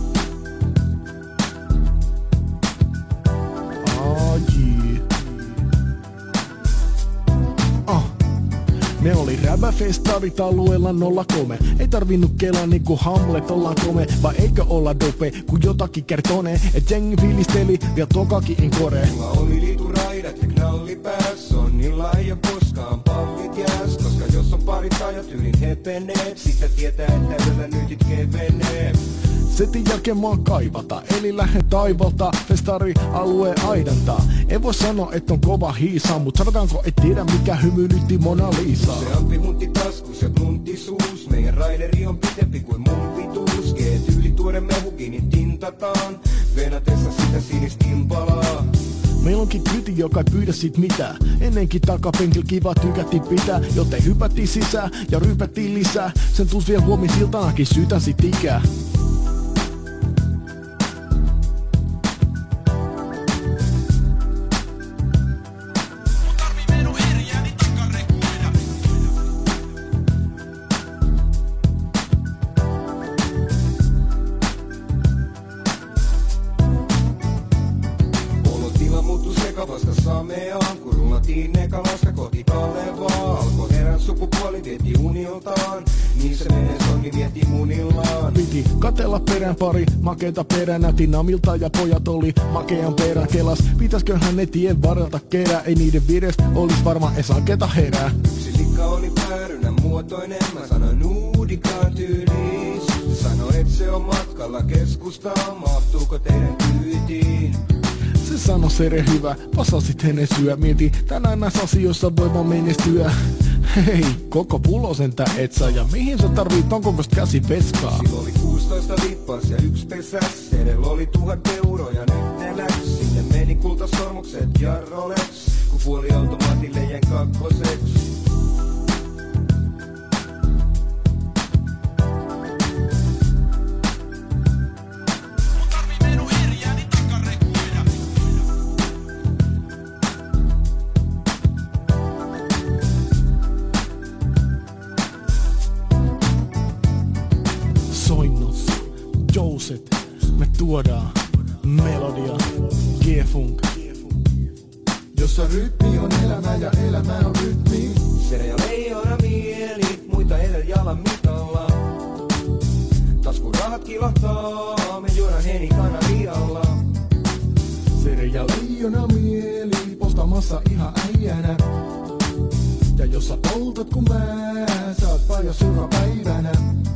S7: Ne oli räbäfestarit alueella 03. Ei tarvinnut kelaa niinku Hamlet ollaan kome. Vai eikö olla dope, kun jotakin kertonee. Et jengi fiilisteli vielä tokakin in kore.
S8: Mulla oli liituraidat ja knalli päässä. On niin laaja koskaan pallit jääs. Koska jos on parit ajat yrin hepeneet, sitä tietää että yöllä nyt kevenee.
S7: Setin jälkeen maa kaivata, eli lähden taivalta, festari alueen aidantaa. En voi sanoa, että on kova hiisa, mut sanotaanko, et tiedä mikä hymyilytti Mona Lisaa.
S8: Useampi huntti taskus ja tunti suus, meidän raideri on pitempi kuin mun pituus. G-tyyli tuore mehukin, niin tintataan, venatessa sitä sinistä impalaa.
S7: Meillä onkin kyti, joka ei pyydä sit mitään. Ennenkin takapenkil kiva tykättiin pitää, joten hypättiin sisään ja rypättiin lisää. Sen tuus vielä huomin siltanakin syytän sit ikää. Pari makeita peränä, Tinamilta ja pojat oli makean perän kelas. Pitäsköhän ne tien varrelta kerää, ei niiden virestä olis varmaan edes anketa herää.
S8: Yksi likka oli päärynä, muotoinen, mä sanon uudikaan tyyliin. Sano et se on matkalla keskustaan, mahtuuko teidän kyytiin?
S9: Se sano Sere hyvä, vasasit ennen syö. Mieti, tänään näissä asioissa voi vaan menestyä. Hei, koko pulosentä et saa. Ja mihin sä tarvit ton kokoista käsipeskaa?
S8: Sillä oli 16 lippas ja 1 pesäs. Edellä oli 1000 € ja nyt ne läks. Sinne meni kultasormukset ja Rolex. Kun puoliautomaatille jäin kakkoseks.
S9: Me tuodaan melodia, G-funk.
S8: Jossa rytmi on elämä ja elämä on rytmi. Sere ja leijona mieli, muita edellä jalan mitalla. Taskun rahat kilahtaa, me juodaan Heni kanarialla.
S9: Sere ja leijona mieli, postamassa ihan äijänä. Ja jos sä poltat kun mä, sä oot pajas joka päivänä.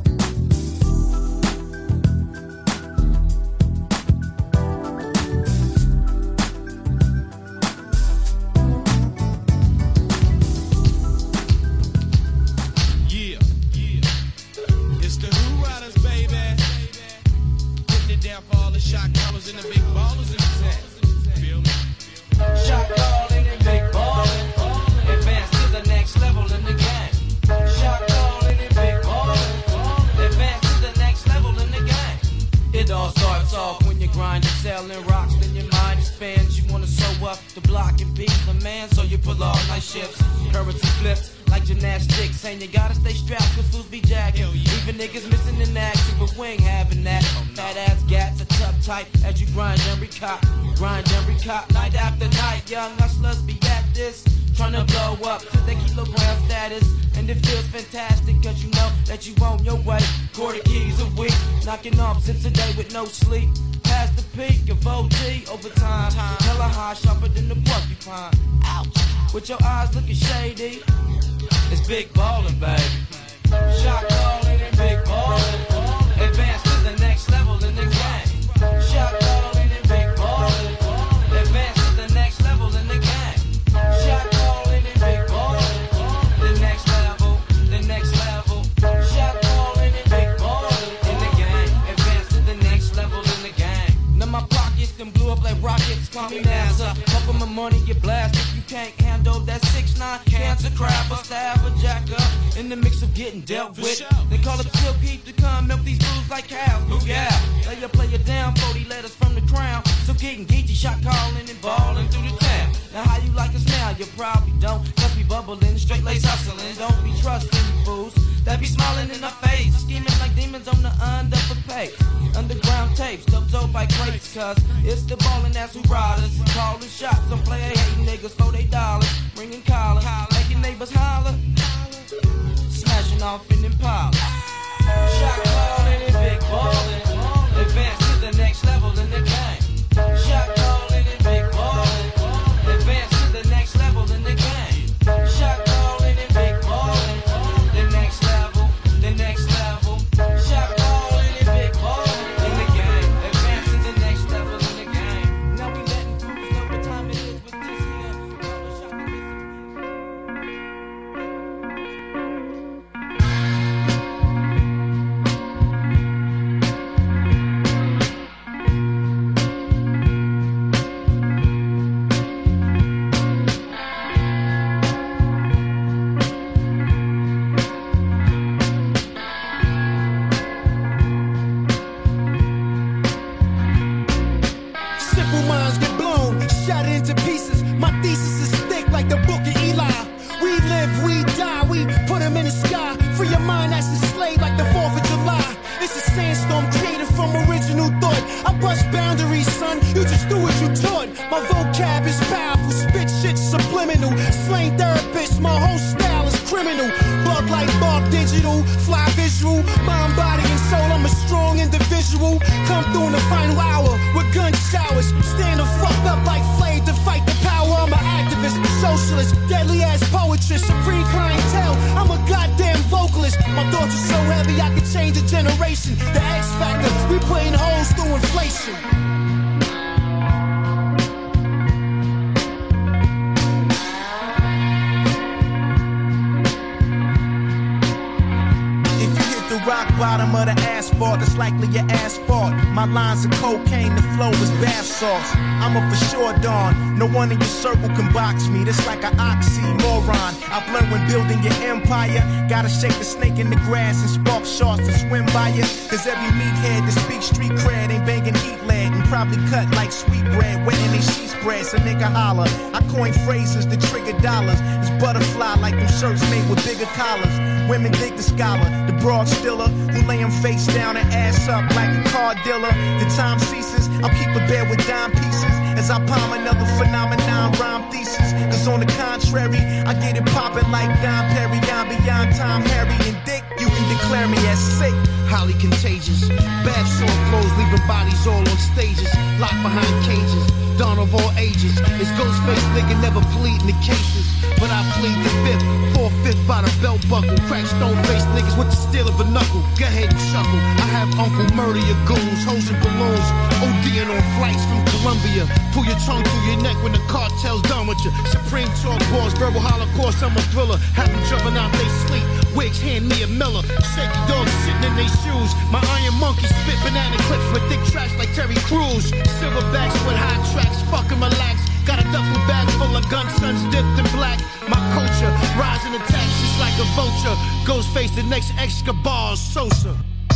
S10: Night after night, young hustlers be at this, trying to blow up to the kilogram status. And it feels fantastic cause you know that you on your way. Quarter keys a week, knocking off since a day with no sleep. Past the peak of OT overtime, hella high, sharper than the porcupine. Ouch, with your eyes looking shady, it's big ballin', baby. Shot callin' and big ballin', advance to the next level in the game. Shot callin' and big ballin'. Advance to the next level in the game. Shot calling and big ballin'. The next level, the next level. Shot calling and big ballin' in the game. Advance to the next level in the game. Now my pockets them blew up like rockets. Call me NASA. Fuck with my money, get blasted. You can't handle that 6'9" cancer crab or stab or jack up. In the mix of getting dealt with. They call up Silky to come milk these blues like cows. Look out, lay your player down 40 letters from the crown. So getting geeky, shot calling and balling through the town. Now how you like us now? You probably don't. Just be bubbling, straight lace hustling. Don't be trusting fools that be smiling in our face, scheming like demons on the underpaid. Underground tapes, dubbed up by crates, cause it's the ballin' that's who ride us. Calling shots on player hating niggas for they dollars. Bringing collars, making neighbors holler. Smashing off in Impala. Shot calling and big ballin'. Advance to the next level in the game. Shot calling and big ballin'. Advance to the next level in the game. Shot calling and big ballin'. The next level, the next level. Shot calling and big ballin' in the game. Advance to the next level in the game. Now we letting fools know what time it is with this here.
S11: Simple minds get blown, shattered into pieces. My thesis is thick like the book of Eli. We live, we die, we put them in the sky. Free your mind that's enslaved like the 4th of July. It's a sandstorm created from original thought. I bust boundaries, son, you just do what you taught. My vocab is powerful, spit shit subliminal. Slang therapist, my whole style is criminal. Bug like Bob Digital, fly visual. Mind, body, and soul, I'm a strong individual. Come through in the final hour with gun showers. Stand the fuck up like Flame to fight the power. I'm an activist, socialist, deadly ass poetry, supreme clientele. I'm a goddamn vocal. My thoughts are so heavy I could change a generation. The X Factor, we putting holes through inflation.
S12: Rock bottom of the asphalt, it's likely your asphalt. My lines of cocaine, the flow is bath salts. I'm a for sure dawn. No one in your circle can box me. That's like an oxymoron. I've learned when building your empire, gotta shake the snake in the grass and spark sharks to swim by you. Cause every meathead that speaks street cred ain't banging heat lead and probably cut like sweet bread, wetting they sheet spread. So nigga holler. I coin phrases that trigger dollars. It's butterfly like them shirts made with bigger collars. Women dig the scholar, the broad stiller, who lay him face down and ass up like a car dealer. The time ceases, I'll keep a bed with dime pieces as I palm another phenomenon rhyme thesis. Cause on the contrary, I get it poppin' like Don Perry. I'm beyond Tom, Harry, and Dick. You can declare me as sick.
S11: Highly contagious, bad sore flows, leaving bodies all on stages, locked behind cages, dawn of all ages. It's Ghostface, nigga never plead in the cases, but I plead the fifth, 4/5 by the belt buckle. Crack stone face niggas with the steel of a knuckle. Go ahead and chuckle. I have Uncle murder your goons, hoes and balloons, ODing on flights from Colombia. Pull your tongue through your neck when the cartel's done with you. Supreme talk balls, verbal holocaust, I'm a thriller. Have them jumping out they sleep. Wigs hand me a Miller. Shaky dogs sitting in their shoes. My iron monkey spit banana clips with thick tracks like Terry Crews. Silverbacks with high tracks, fucking relax. Got a duffel bag full of gun sons dipped in black. My culture, rising attacks just like a vulture. Ghostface, the next Escobar Sosa.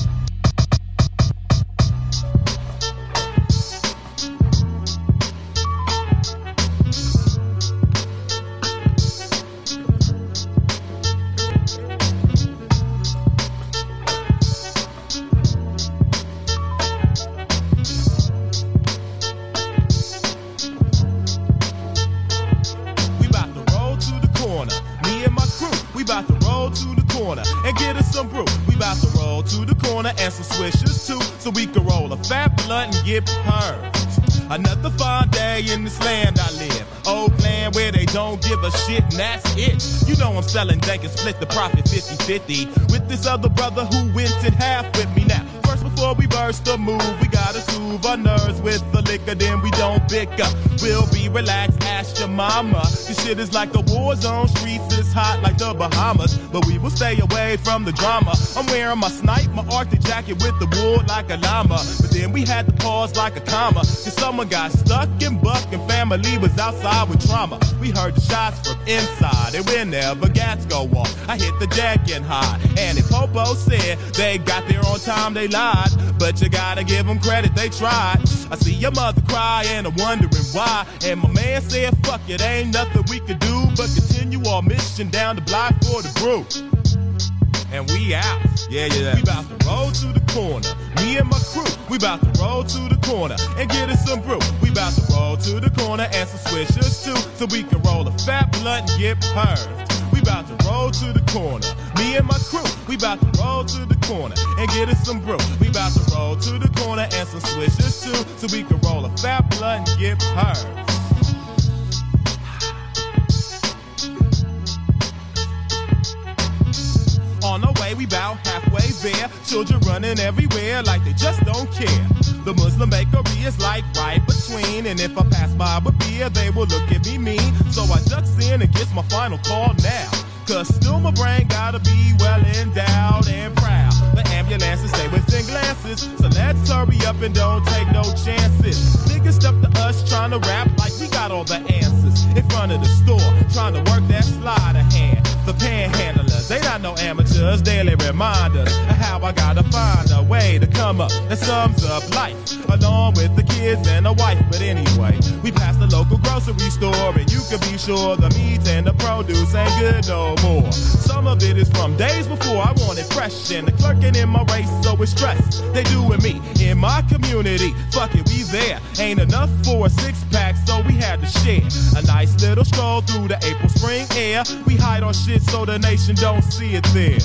S13: And some swishers too, so we can roll a fat blunt and get purged. Another fine day in this land I live. Old plan where they don't give a shit and that's it. You know I'm selling dank and split the profit 50-50 with this other brother who went in half with me now. First before we burst the move, we gotta soothe our nerves with the liquor, then we don't pick up. We'll be relaxed, ask your mama. This shit is like a war zone, streets is hot like the Bahamas, but we will stay away from the drama. I'm wearing my snipe, my Arctic jacket with the wool like a llama, but then we had to pause like a comma, cause someone got stuck in buck and family was outside with trauma. We heard the shots from inside, and whenever gas go off, I hit the deck and hide. And if Popo said they got there on time, they lied, but you gotta give them credit, they tried. I see your mother cry and I'm wondering why, and my man said fuck it, ain't nothing we could do but continue our mission down the block for the brew. And we out, yeah. We about to roll to the corner, me and my crew. We about to roll to the corner and get us some brew. We about to roll to the corner and some swishers too, so we can roll a fat blunt and get purged. We about to roll to the corner, me and my crew. We about to roll to the corner and get us some brew. We about to roll to the corner and some swishers too, so we can roll a fat blunt and get purged. On our way, we bout halfway there. Children running everywhere like they just don't care. The Muslim bakery is like right between, and if I pass by with beer, they will look at me mean. So I ducks in and gets my final call now, cause still my brain gotta be well endowed and proud. The ambulances stay within glances, so let's hurry up and don't take no chances. Niggas step to us trying to rap like we got all the answers. In front of the store, trying to work that sleight of hand. The panhandlers, they not no amateurs, daily reminders of how I gotta find a way to come up that sums up life, along with the kids and the wife. But anyway, we passed the local grocery store, and you can be sure the meat and the produce ain't good no more. Some of it is from days before I wanted fresh, and the clerking in my race, so it's stress. They doing me in my community, fuck it, we there. Ain't enough for a six-pack, so we had to share a nice little stroll through the April spring air. We hide our shit so the nation don't see it there.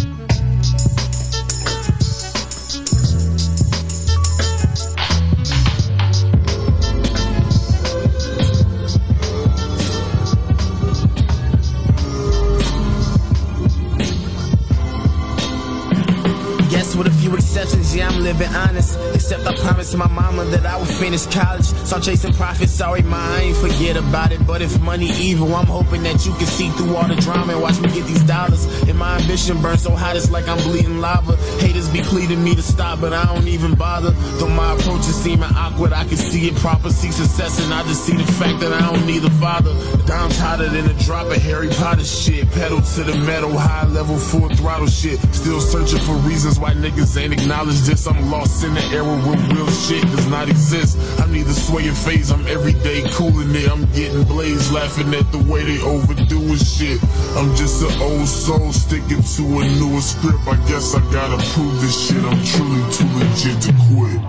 S14: yeah, I'm living honest. Except I promised my mama that I would finish college. So chasing profits, sorry ma, I ain't forget about it. But if money evil, I'm hoping that you can see through all the drama and watch me get these dollars. And my ambition burns so hot it's like I'm bleeding lava. Haters be pleading me to stop, but I don't even bother. Though my approach is seeming awkward, I can see it proper, see success, and I just see the fact that I don't need a father. Dime's hotter than a drop of Harry Potter shit. Pedal to the metal, high level, full throttle shit. Still searching for reasons why niggas ain't acknowledged this. I'm lost in the era where real shit does not exist. I'm neither swaying phase, I'm everyday cooling it. I'm getting blazed, laughing at the way they overdoing shit. I'm just an old soul sticking to a newer script. I guess I gotta prove this shit. I'm truly too legit to quit.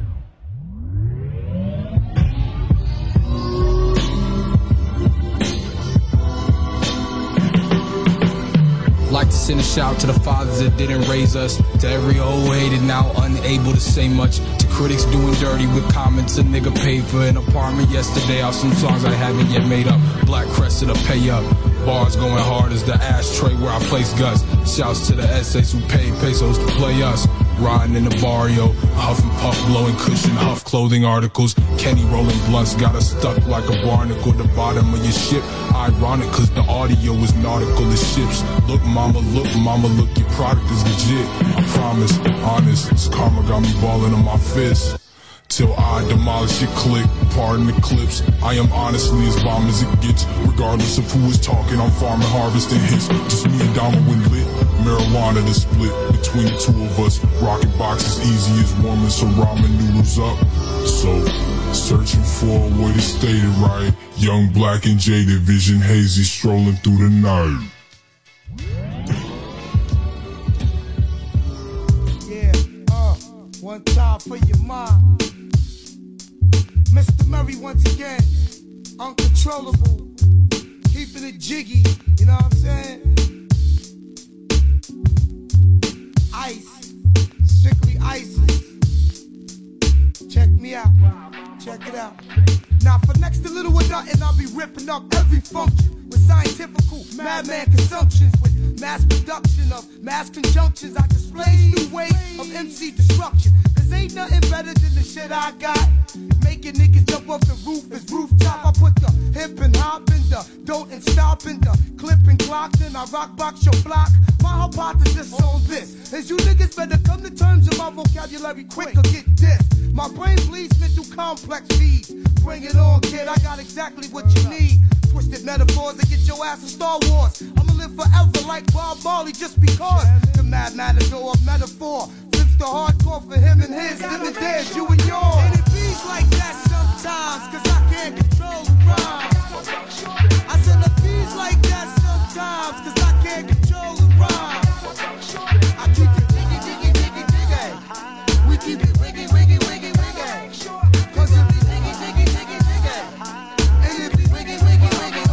S15: Like to send a shout to the fathers that didn't raise us. To every old hated now unable to say much. To critics doing dirty with comments. A nigga paid for an apartment yesterday off some songs I haven't yet made up. Black Crescent to pay up. Bars going hard as the ashtray where I place guts. Shouts to the essays who paid pesos to play us. Riding in the barrio, huff and puff, blowing cushion, huff clothing articles. Kenny rolling blunts, got us stuck like a barnacle. The bottom of your ship, ironic cause the audio is nautical as ships. Look mama, look, your product is legit. I promise, honest, this karma got me balling on my fist. Till I demolish your click, pardon the clips. I am honestly as bomb as it gets. Regardless of who is talking, I'm farming, harvesting hits. Just me and Dama when lit. Marijuana to split between the two of us. Rocking boxes easy as warming some ramen noodles up. So, searching for a way to stay it right. Young, black, and jaded, vision hazy, strolling through the night.
S11: One time for your mind. Mr. Murray once again, uncontrollable, keeping it jiggy, you know what I'm saying? Ice, strictly ISIS. Check me out, check it out. Now for next to little or nothing, I'll be ripping up every function with scientifical madman consumptions, with mass production of mass conjunctions. I display new ways of MC destruction. Cause ain't nothing better than the shit I got. Making niggas jump off the roof as rooftop. I put the hip and hop in the don't and stop in the clip and clock. Then I rock box your block. My hypothesis on this is you niggas better come to terms with my vocabulary quick or get dissed. My brain bleeds me through complex feeds. Bring it on, kid, I got exactly what you need. Twisted metaphors that get your ass in Star Wars. I'ma live forever like Bob Marley just because. The mad matador of metaphor flips the hardcore for him and his. Them and theirs, you and yours. And it beats like that sometimes, cause I can't control the rhyme. I said it beats like that sometimes, cause I can't control the rhyme. I keep it diggy, diggy, diggy, diggy. We keep it wiggy, wiggy, wiggy, wiggy. Cause it be diggy, diggy, diggy, diggy. And it be wiggy, wiggy, wiggy,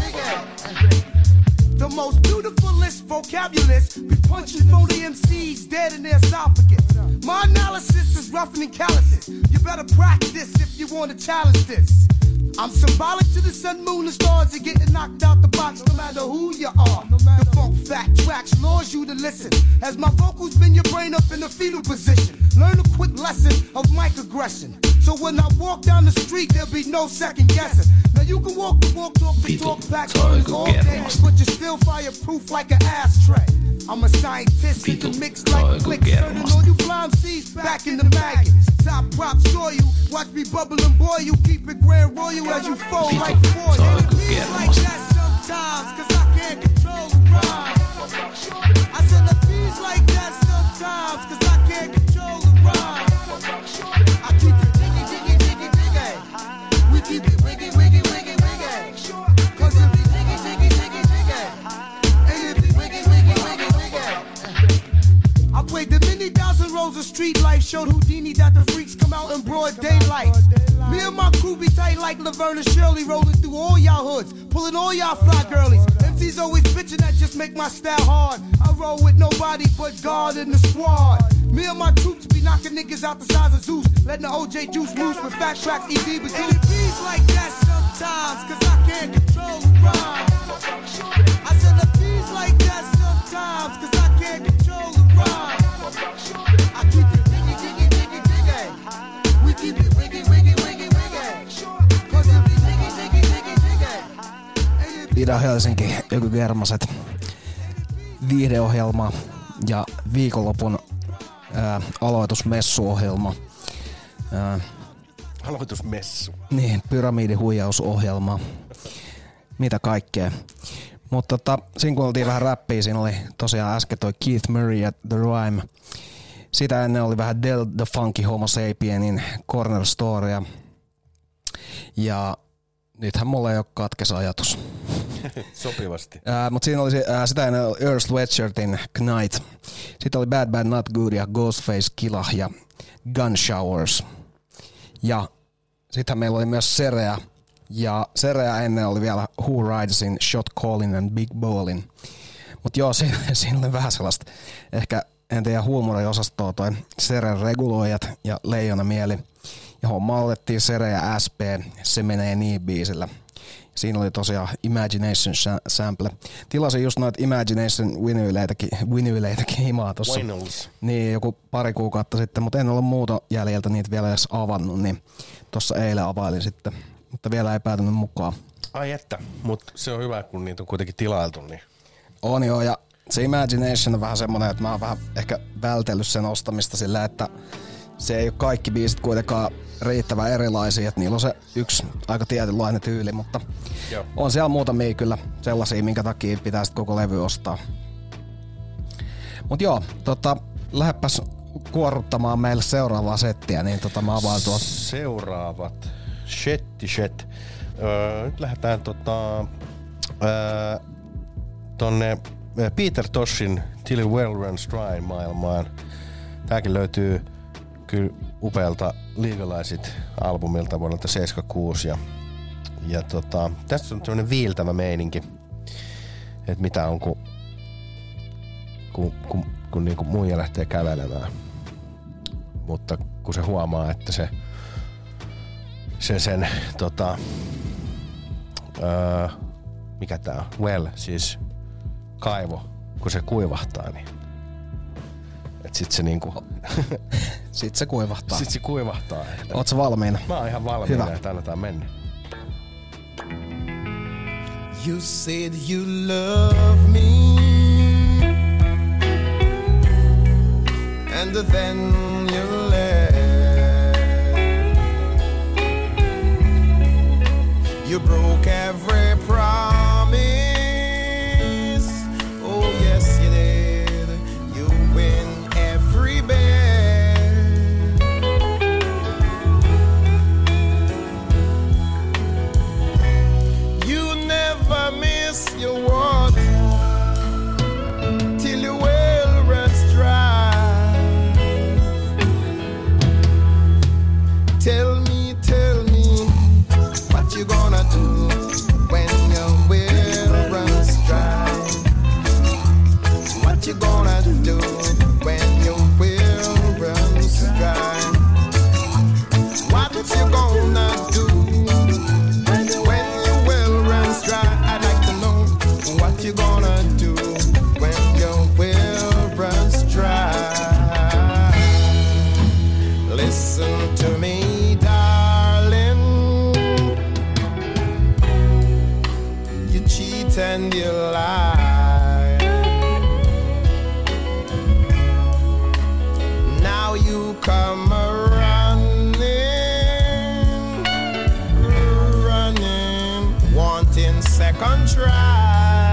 S11: wiggy. The most beautifulest vocabulist be punching phony MCs dead in their esophagus. My analysis is rougher than calluses. You better practice if you want to challenge this. I'm symbolic to the sun, moon, and stars. You're getting knocked out the box no matter who you are. The funk fat tracks lures you to listen. As my vocals bend your brain up in the fetal position. Learn a quick lesson of microaggression. So when I walk down the street, there'll be no second guessing. Now you can walk the walk, talk the talk, back all day, but you're still fireproof like an ashtray. I'm a scientist in the mix like clicks, turning all you fly MCs back in the maggots. Top props saw you, watch me bubble and boil you, keep it grand royal as you fall like foil. And it feels like that sometimes, cause I can't control the rhyme. I said it feels like that sometimes, cause I can't control the rhyme. I keep it diggy, diggy, diggy, diggy. We keep it wiggy, wiggy, wiggy, wiggy. Cause it be diggy, diggy, diggy, diggy. And it be wiggy, wiggy, wiggy, wiggy. I played the many thousand rows of street life, showed Houdini that the freaks come out in broad daylight. Me and my crew be tight like Laverne and Shirley, rolling through all y'all hoods, pulling all y'all fly girlies. MC's always bitching that just make my style hard. I roll with nobody but God in the squad. Me and my troops be knocking niggas out the size of Zeus, letting the OJ juice loose with fat tracks, ED but and it beats like that sometimes, cause I can't control the rhyme. I said it beats like that sometimes, cause I can't control the rhyme. I keep it diggy, diggy,
S1: Ida-Helsinki Ykygermaset viihdeohjelma ja viikonlopun aloitusmessuohjelma.
S2: Aloitusmessu.
S1: Niin, pyramidihuijausohjelma. Mitä kaikkea. Mutta siinä kuultiin vähän räppiä, siinä oli tosiaan äsken toi Keith Murray ja The Rhyme. Sitä ennen oli vähän Del the Funky Homo Sapienin Corner Storya. Ja nythän mulla ei ole katkes ajatus.
S2: Sopivasti.
S1: Mutta siinä oli sitä ennen Earl Sweatshirtin Knight. Sitten oli Bad Bad Not Good ja Ghostface Killah ja Gun Showers. Ja sitten meillä oli myös Serea. Ja Serea ennen oli vielä Who Ridesin, Shot Callin and Big Ballin. Mutta joo, siinä oli vähän sellaista, ehkä en tiedä huumoriosastoa toi Seren reguloijat ja Leijona Mieli. Ja homma otettiin Sere ja SP, Se menee niin biisillä. Siinä oli tosiaan Imagination sample. Tilasin just noita Imagination vinyyleitäkin himaa tossa. Niin, joku pari kuukautta sitten, mutta en ole muuta jäljeltä niitä vielä edes avannut, niin tossa eilen availin sitten. Mutta vielä ei päätynyt mukaan.
S2: Ai että, mutta se on hyvä, kun niitä on kuitenkin tilailtu. Niin.
S1: On joo, ja se Imagination on vähän semmonen, että mä oon vähän ehkä vältellyt sen ostamista sillä, että se ei ole kaikki biisit kuitenkaan riittävän erilaisia, että niillä on se yksi aika tietynlainen tyyli, mutta joo. On siellä muutamia kyllä sellaisia, minkä takia pitää sitten koko levy ostaa. Mut joo, lähdepäs kuorruttamaan meille seuraavaa settiä, niin mä avaan tuolta.
S2: Seuraavat. Shet. Nyt lähdetään tonne Peter Toshin Till It Well Runs Dry -maailmaan. Tääkin löytyy kyllä upealta Legalized-albumilta vuodelta 76. Ja tässä on semmonen viiltävä meininki, että mitä on kun niinku muija lähtee kävelemään. Mutta kun se huomaa, että sen mikä tää on? Well, siis kaivo, kun se kuivahtaa, niin et sit se niinku
S1: sit se kuivahtaa.
S2: Sit se kuivahtaa.
S1: Oot sä valmiina?
S2: Mä oon ihan valmiina, että annetaan mennä.
S11: You said you love me, and then you left. You broke every promise. Oh yes you did. You win every bet. You never miss your water till your well runs dry. Tell me what you gonna do when your well runs dry? What you gonna do when your well runs dry? What you gonna do when your well runs dry? I'd like to know what you gonna do when your well runs dry. Listen to me, and you lie. Now you come running, wanting second try.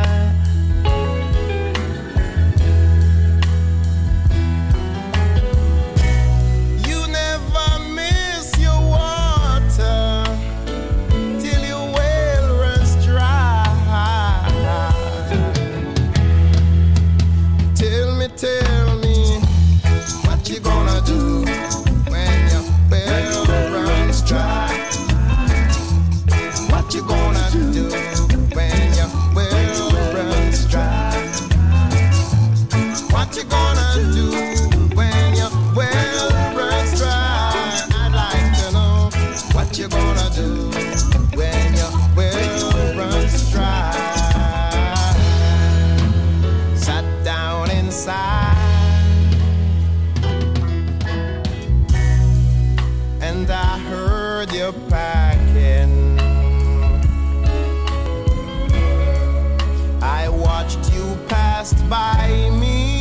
S11: You never miss your water till your well runs dry. Tell me what you gonna do when your well runs dry. What you gonna do when your well runs dry? What you gonna do when your well runs dry? I'd like to know what you gonna do when your well runs dry. Sat down inside and I heard you packing.
S16: passed by me,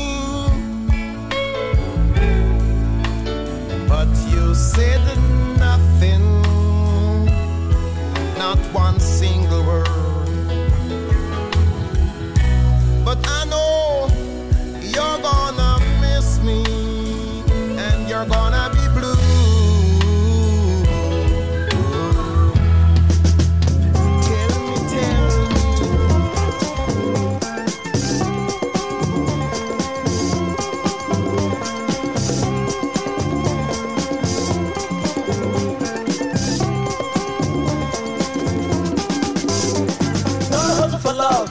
S16: but you said nothing, not one single word. But I know you're gonna miss me, and you're gonna be blue.
S17: For love,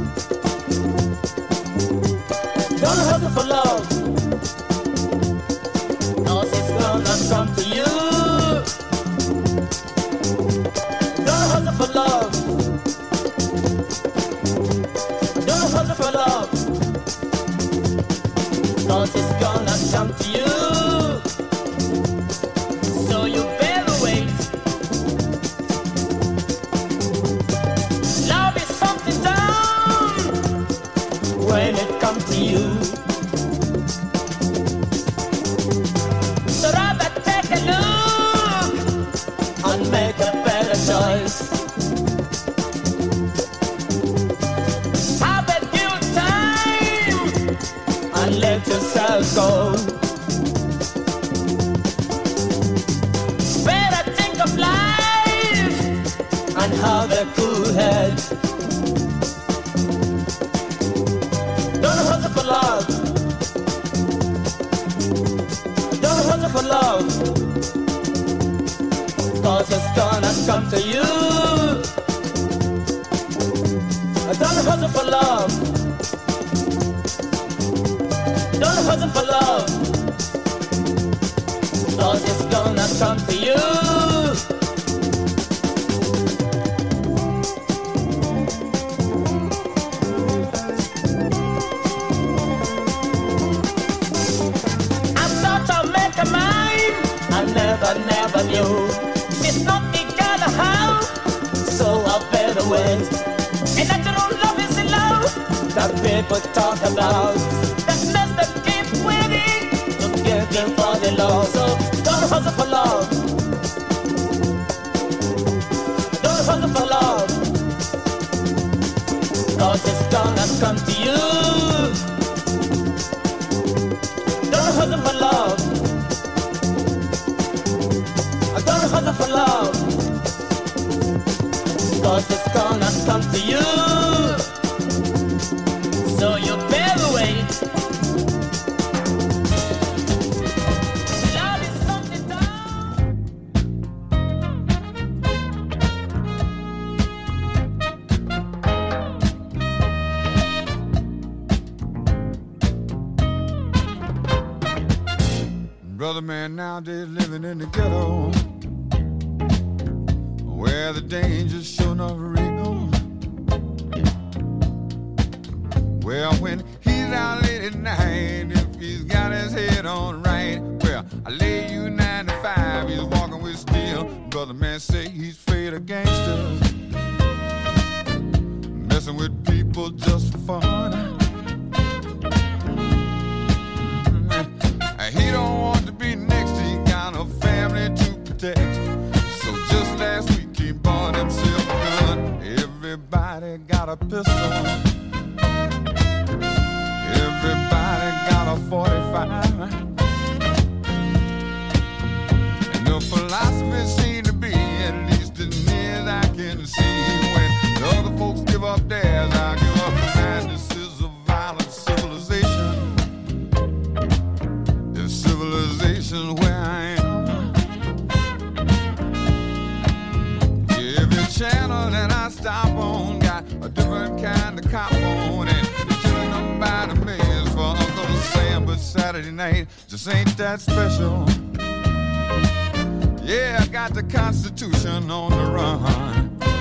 S17: don't hustle for love, 'cause it's gonna come to you. Don't hustle for love, don't hustle for love, 'cause it's gonna come to you. So you better wait. When it comes to you, so rather take a look and make a better choice. Have a good time and let yourself go. Better think of life and have a cool head. Don't hustle for love. Don't hustle for love, 'cause it's gonna come to you. Don't hustle for love. Don't hustle for love, 'cause it's gonna come to you. Never knew it's not together how, so I better wait. And natural love is the love that people talk about, that makes them keep waiting to get in for the love. So don't hustle for love, don't hustle for love, 'cause it's gonna come to you. Don't hustle for love, don't hustle for love, 'cause it's gonna come to you. So you better wait. Love is something
S3: Brother man nowadays living in the ghetto, where the danger's sure enough real. Well, when he's out late at night, if he's got his head on right, well, I lay you 95, he's walking with steel. Brother man say he's afraid of gangsters, messing with people just for fun. He don't want to be next, he got a family to protect. So just last week he bought himself a gun. Everybody got a pistol, everybody got a 45. And the philosophy seems to be, at least as near as I can see, when the other folks give up theirs, I give up mine. This is a violent civilization, the civilization where I am. Every channel that I stop on got a different kind of cop on, and they're killing them by the millions for Uncle Sam. But Saturday night just ain't that special. Yeah, I got the Constitution on the run.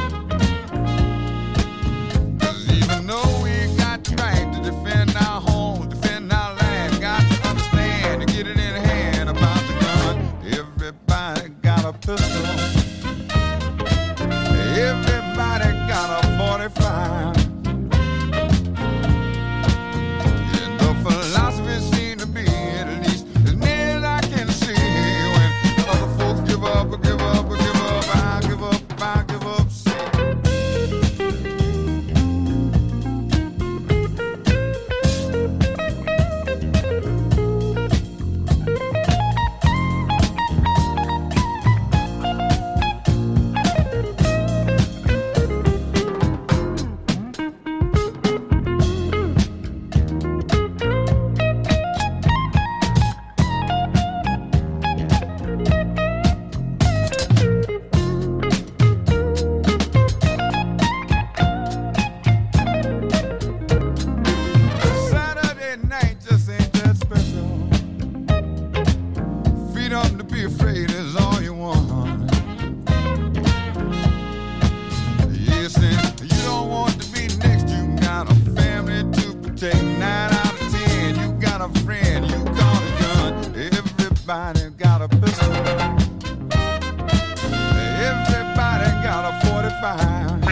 S3: 'Cause even though we got the right to defend our home, defend our land, got to understand to get it in hand about the gun. Everybody got a pistol, everybody got a 45. got a friend, you got a gun. Everybody got a pistol. Everybody got a 45.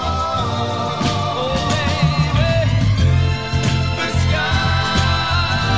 S4: The sky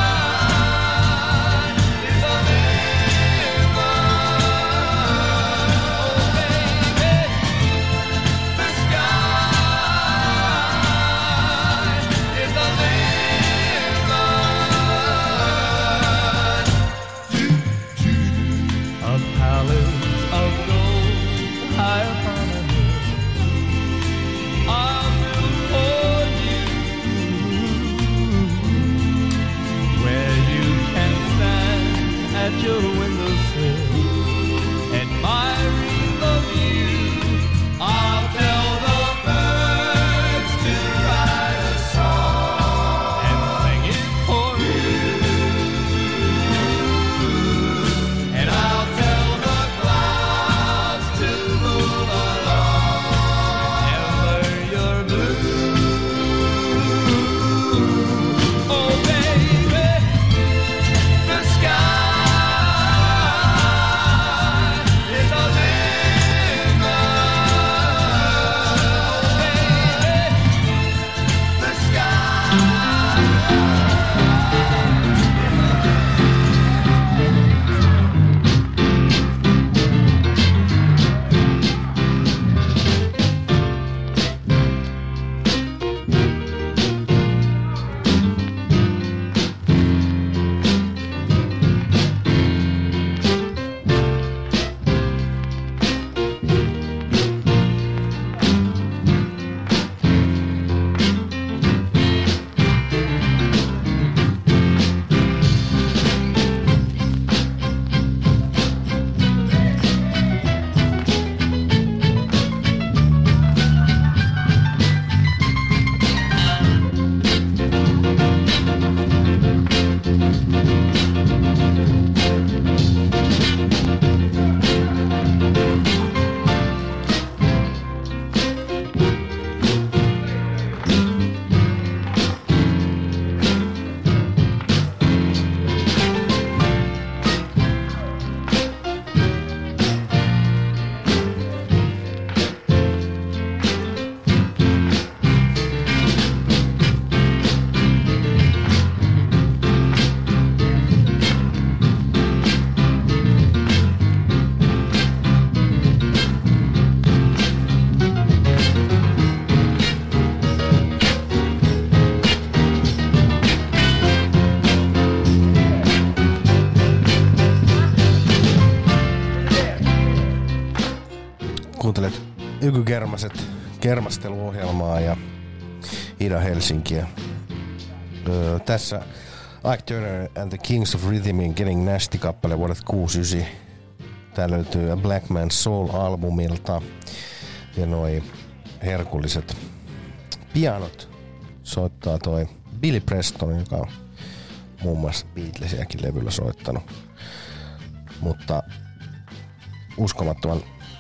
S2: Kuuntelet Ykykermaset kermasteluohjelmaa ja Ida Helsinkiä. Tässä Ike Turner and the Kings of Rhythmin Getting Nasty-kappale vuodet 69. Tää löytyy A Black Man's Soul-albumilta. Ja noi herkulliset pianot soittaa toi Billy Preston, joka on muun muassa Beatlesiäkin levyllä soittanut. Mutta uskomattoman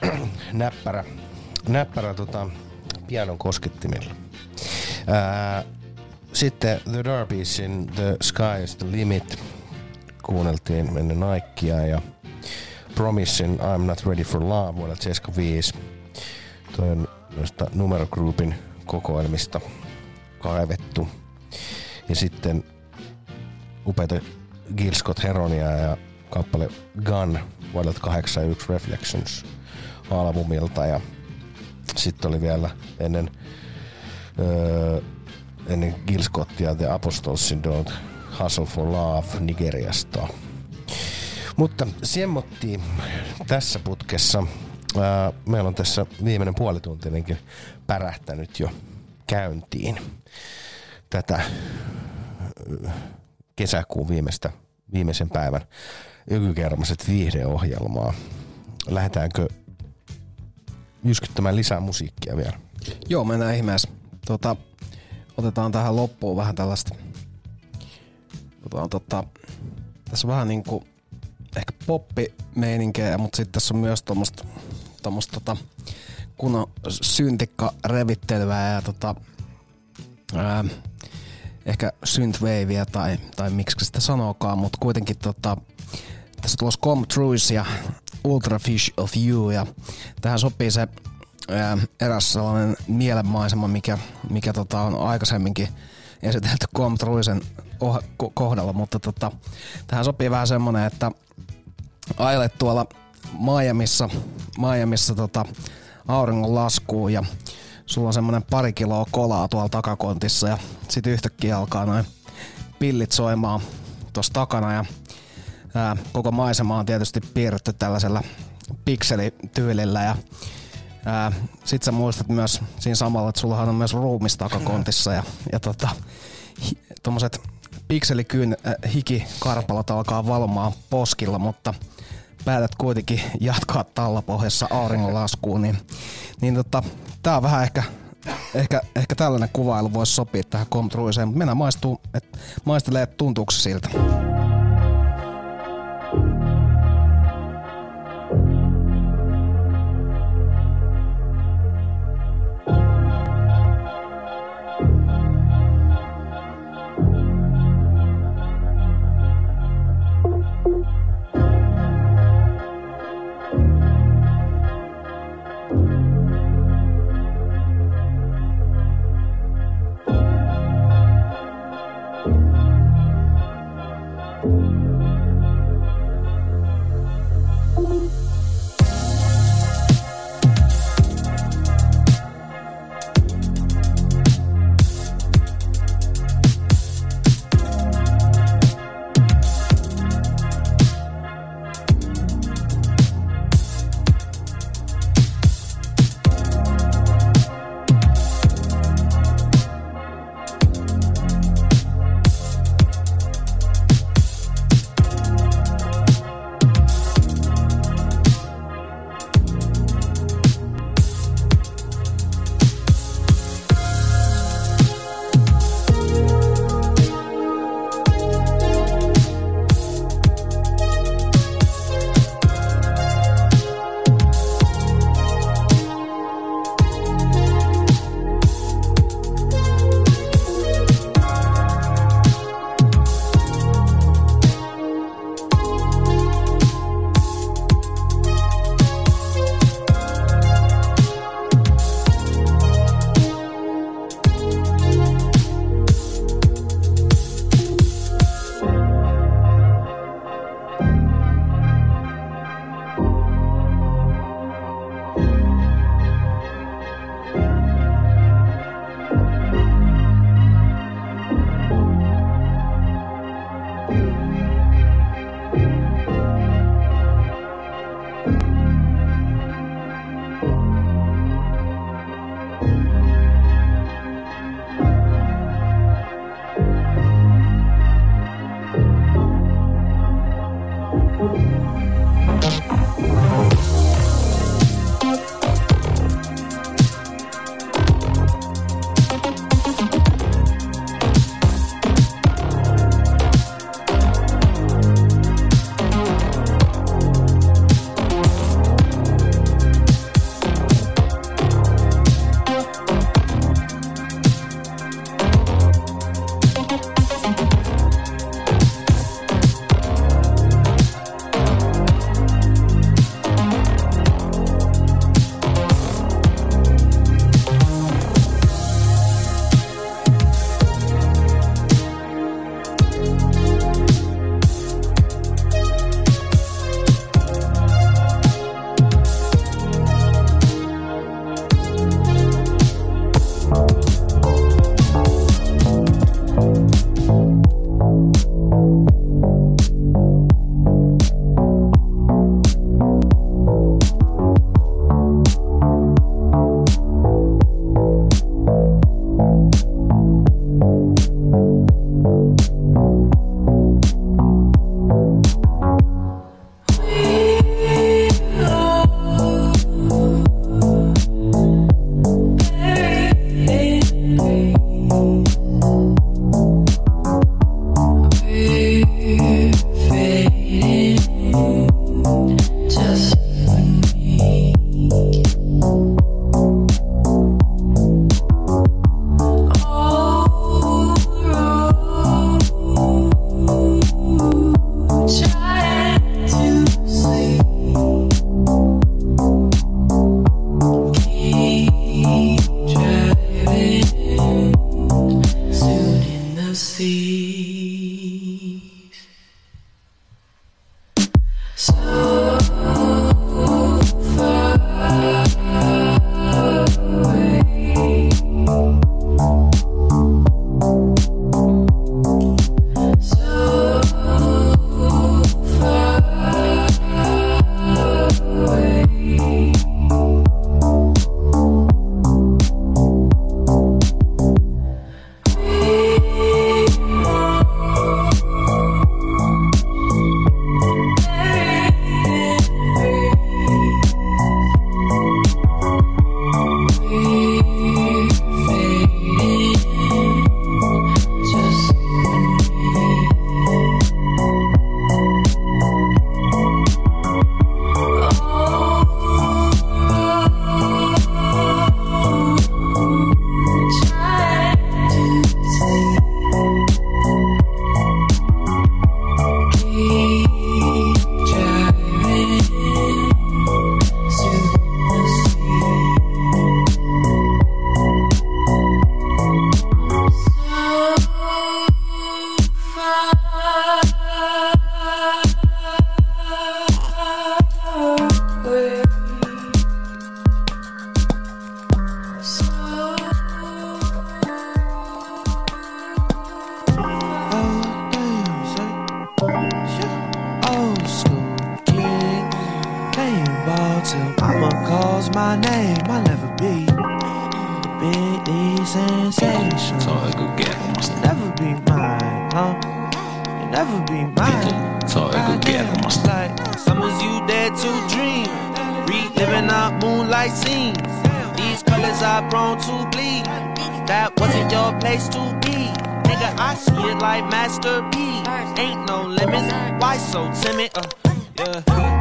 S2: näppärä pianon koskettimilla. Sitten The Darbiesin The Sky is the Limit kuunneltiin ennen Nikea ja Promisin I'm Not Ready for Love vuodelta 75. Toi on noista Numero Groupin kokoelmista kaivettu. Ja sitten upeita Gil Scott Heronia ja kappale Gun vuodelta 81 Reflections albumilta. Ja sitten oli vielä ennen Gil Scottia The Apostlesin Don't Hustle for Love Nigeriasta. Mutta semmottiin tässä putkessa. Meillä on tässä viimeinen puolituntinenkin pärähtänyt jo käyntiin tätä kesäkuun viimeisen päivän Ykykermaset viihdeohjelmaa. Lähdetäänkö jyskyttämään lisää musiikkia vielä?
S1: Joo, mennään ihmeessä. Otetaan tähän loppuun vähän tällaista. Tässä on vähän niinku ehkä poppi-meininkejä, mutta sitten tässä on myös tommoista kunnon syntikka-revittelyä ja ehkä synthwaveä tai miksi sitä sanookaan, mutta kuitenkin tässä tulossa Come Trues ja Ultrafish of You ja tähän sopii se eräs sellainen mielenmaisema, mikä on aikaisemminkin esitelty Come Truesen kohdalla, mutta tähän sopii vähän semmonen, että ajelet tuolla Miamiissa auringon laskuun ja sulla on semmonen 2 kiloa kolaa tuolla takakontissa ja sit yhtäkkiä alkaa noin pillit soimaan tossa takana ja koko maisema on tietysti piirretty tällaisella pikselityylillä ja sit sä muistat myös siinä samalla, että sullahan on myös ruumis takakontissa ja tommoset pikselikyn hikikarpalot alkaa valmaan poskilla, mutta päätät kuitenkin jatkaa tallapohjassa auringonlaskuun, niin tää on vähän ehkä tällainen kuvailu voisi sopia tähän Come Trueseen, mutta mennään maistelee, että tuntuuko se siltä.
S10: ball till mama calls my name. I'll never be the Big D sensation.
S18: Ta ögogen.
S10: Never be mine, huh? You never be mine.
S18: Ta ögogen.
S10: Like summers you dare to dream, reliving our moonlight scenes. These colors are prone to bleed. That wasn't your place to be. Nigga, I see it like Master P. Ain't no limits, why so timid? Yeah.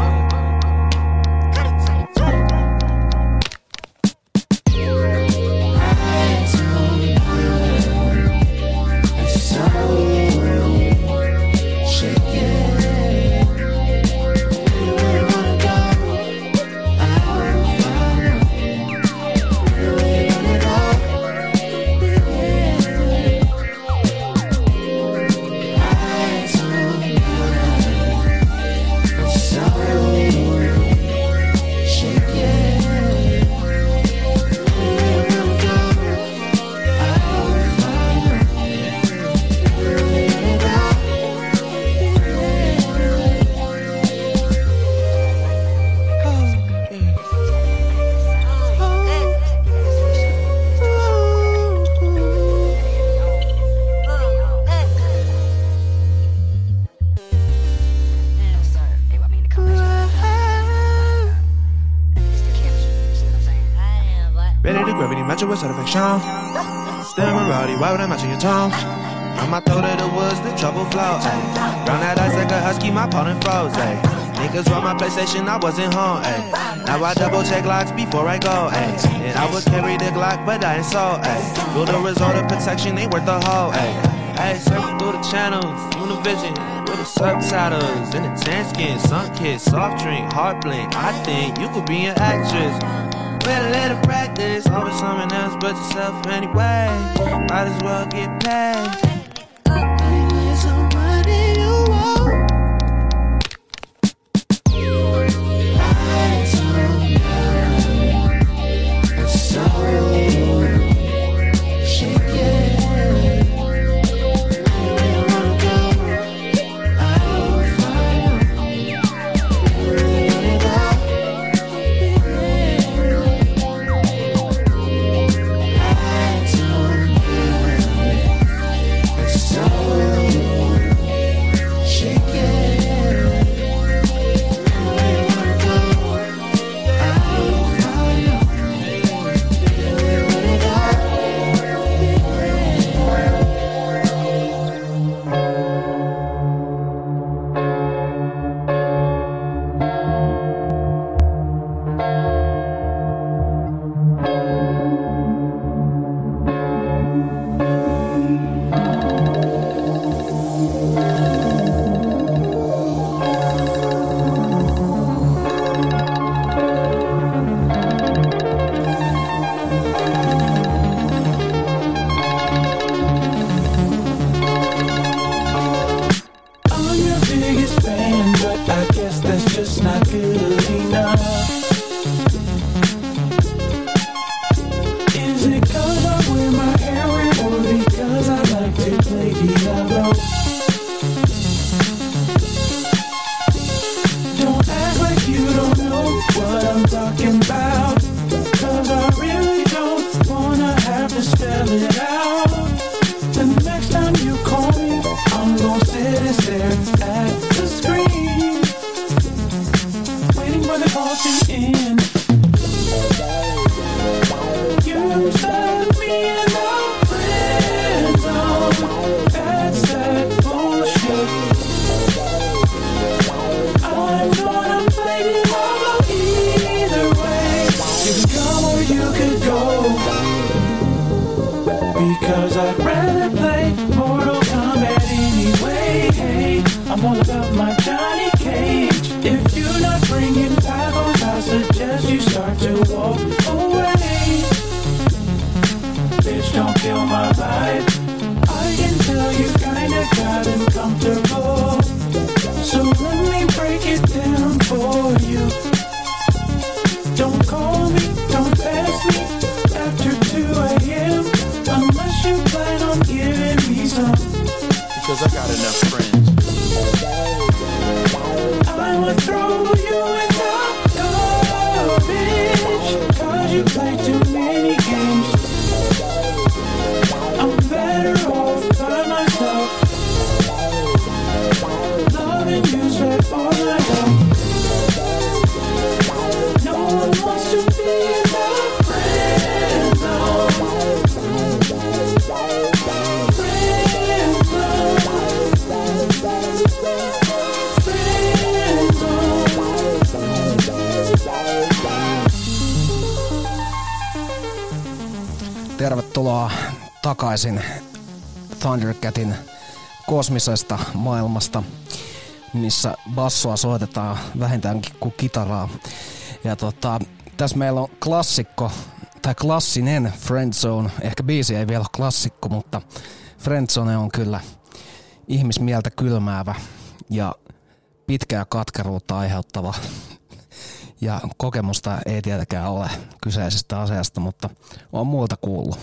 S10: Why would I match your tone? On my throat of the woods, the trouble flow. Round that ice like a husky, my pardon froze. Ay. Niggas roll my PlayStation, I wasn't home. Ay. Now I double check locks before I go. Ay. And I would carry the Glock, but I ain't so. Feel the result of protection ain't worth the whole. Hey, circle through the channels, Univision with the subtitles and the tan skin, sun kiss, soft drink, heart blink. I think you could be an actress. Better let it practice. Always someone else but yourself anyway. Might as well get paid. Somebody you want.
S19: Because I'd rather play Mortal Kombat anyway. Hey, I'm all about my Johnny Cage. If you're not bringing tacos, I suggest you start to walk away. Bitch, don't kill my vibe. I can tell you kinda got uncomfortable. So let me break it down for you. Don't call me, don't text me after 2 a.m. Unless you plan on giving me some.
S12: Because I got enough friends.
S19: I would throw you in the garbage.
S1: Tervetuloa takaisin Thundercatin kosmisesta maailmasta, missä bassoa soitetaan vähintäänkin kuin kitaraa. Ja tässä meillä on klassikko, tai klassinen Friendzone. Ehkä biisi ei vielä ole klassikko, mutta Friendzone on kyllä ihmismieltä kylmäävä ja pitkää katkeruutta aiheuttava. Ja kokemusta ei tietenkään ole kyseisestä asiasta, mutta on muilta kuullut.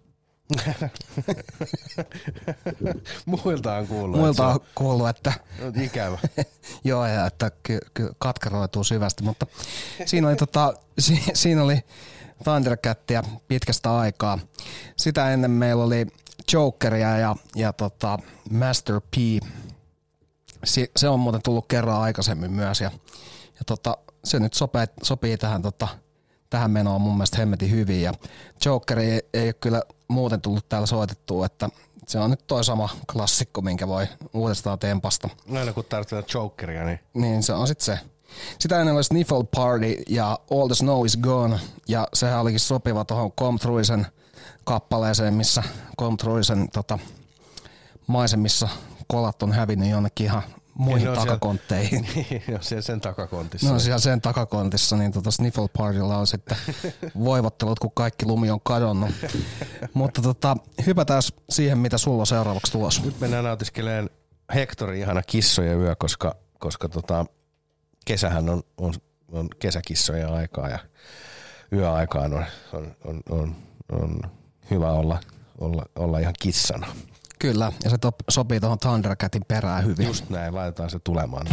S2: Muilta on kuullut.
S1: Muilta on kuullut, että...
S2: Ikävä.
S1: Joo, ja että katkeroituu syvästi, mutta siinä oli Thundercatia pitkästä aikaa. Sitä ennen meillä oli Jokeria ja Master P. Se on muuten tullut kerran aikaisemmin myös, ja se nyt sopii tähän menoon mun mielestä hemmetin hyvin, ja Jokeri ei ole kyllä muuten tullut täällä soitettua, että se on nyt toi sama klassikko, minkä voi uudestaan tempasta.
S2: Aina kun tarvitaan Jokeria, niin...
S1: Niin, se on sitten se. Sitä ennen oli Sniffle Party ja All the Snow is Gone, ja sehän olikin sopiva tuohon Come Throughsen kappaleeseen, missä Come Throughsen maisemissa kolat on hävinnyt jonnekin ihan muihin takakontteihin.
S2: Joo, siellä sen takakontissa.
S1: No siellä sen takakontissa, niin Sniffle Partylla on sitten voivottelut, kun kaikki lumi on kadonnut. Mutta hypätään siihen, mitä sulla on seuraavaksi tulossa.
S2: Nyt mennään nautiskeleen Hectorin ihana kissojen yö, koska kesähän on kesäkissojen aikaa ja yöaikaan on hyvä olla ihan kissana.
S1: Kyllä, ja se sopii tuohon Thundercatin perään hyvin.
S2: Just näin, laitetaan se tulemaan.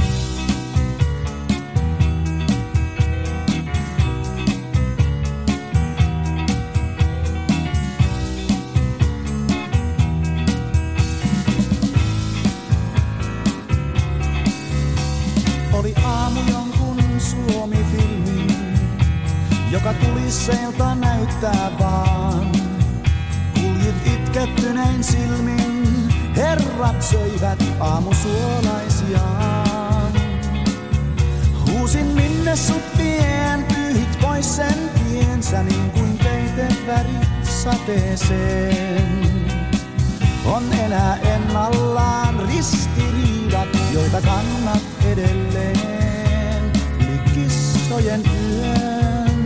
S19: Oli aamu jonkun Suomi-filmin, joka tulisseilta näyttää vaan. Kuljit itkettyneen silmin, herrat söivät aamusuolaisiaan. Huusin minne sut vien, pyyhit pois sen tiensä niin kuin peitevärit sateeseen. On enää ennallaan ristiriidat, joita kannat edelleen yli kissojen yön.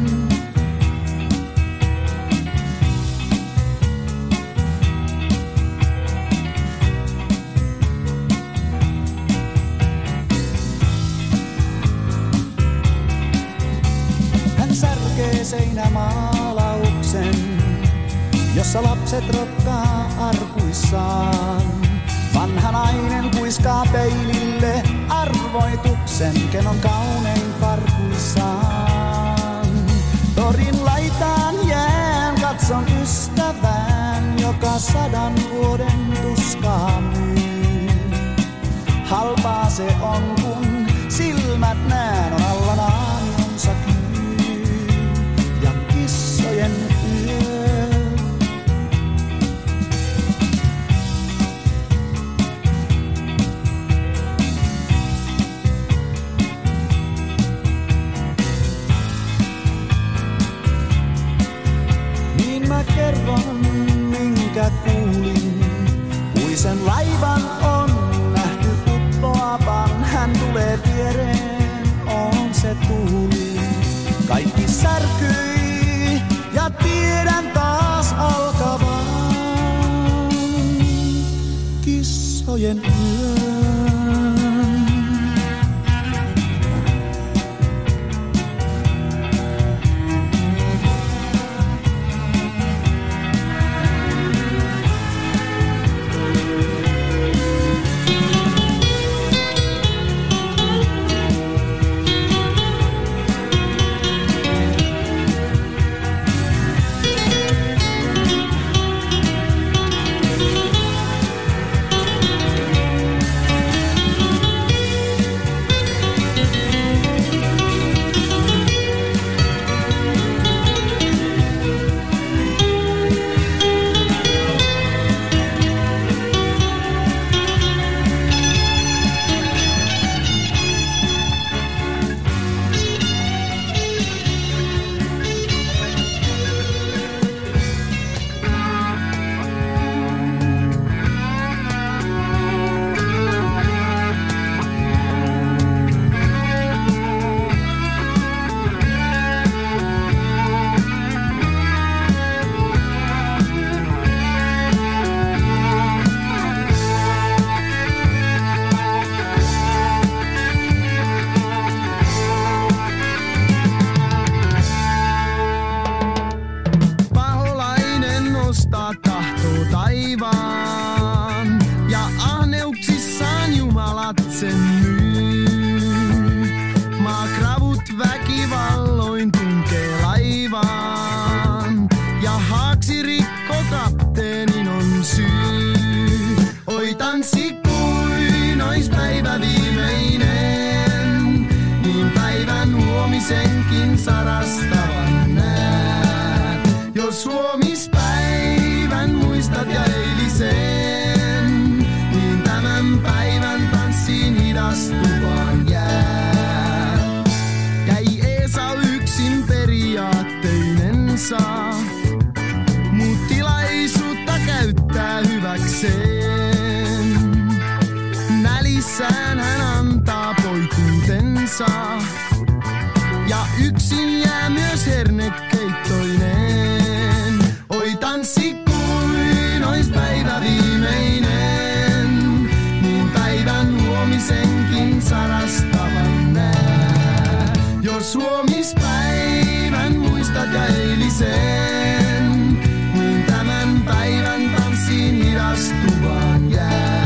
S19: Särkee seinämaalauksen, jossa lapset rokkaa arkuissaan. Vanha nainen kuiskaa peilille arvoituksen, ken on kaunein farkuissaan. Torin laitaan jään, katson ystävään, joka 100 vuoden tuskaa myy. Halpaa se on, kun silmät näen, on alla naamionsa kyy. Kissojen yö. Niin mä kerron, minkä kuulin. Puisen laivan on nähty uppoavan. Hän tulee viereen, on se tuuli. Kaikki särkyi. Ja tiedän taas alkavan kissojen yön.
S16: sarastavan näet. Jos huomispäivän muistat ja eilisen, niin tämän päivän tanssiin hidastuvan jää. Jäi Eesau yksin periaatteinensa, mut tilaisuutta käyttää hyväkseen. Nälissään hän antaa poikuutensa, ja yksin jää myös hernekeittoinen. Oi tanssi kuin ois päivä viimeinen, niin päivän huomisenkin sarastavan nää. Jos huomispäivän muistat ja eilisen, niin tämän päivän tanssiin hidastuvan jää.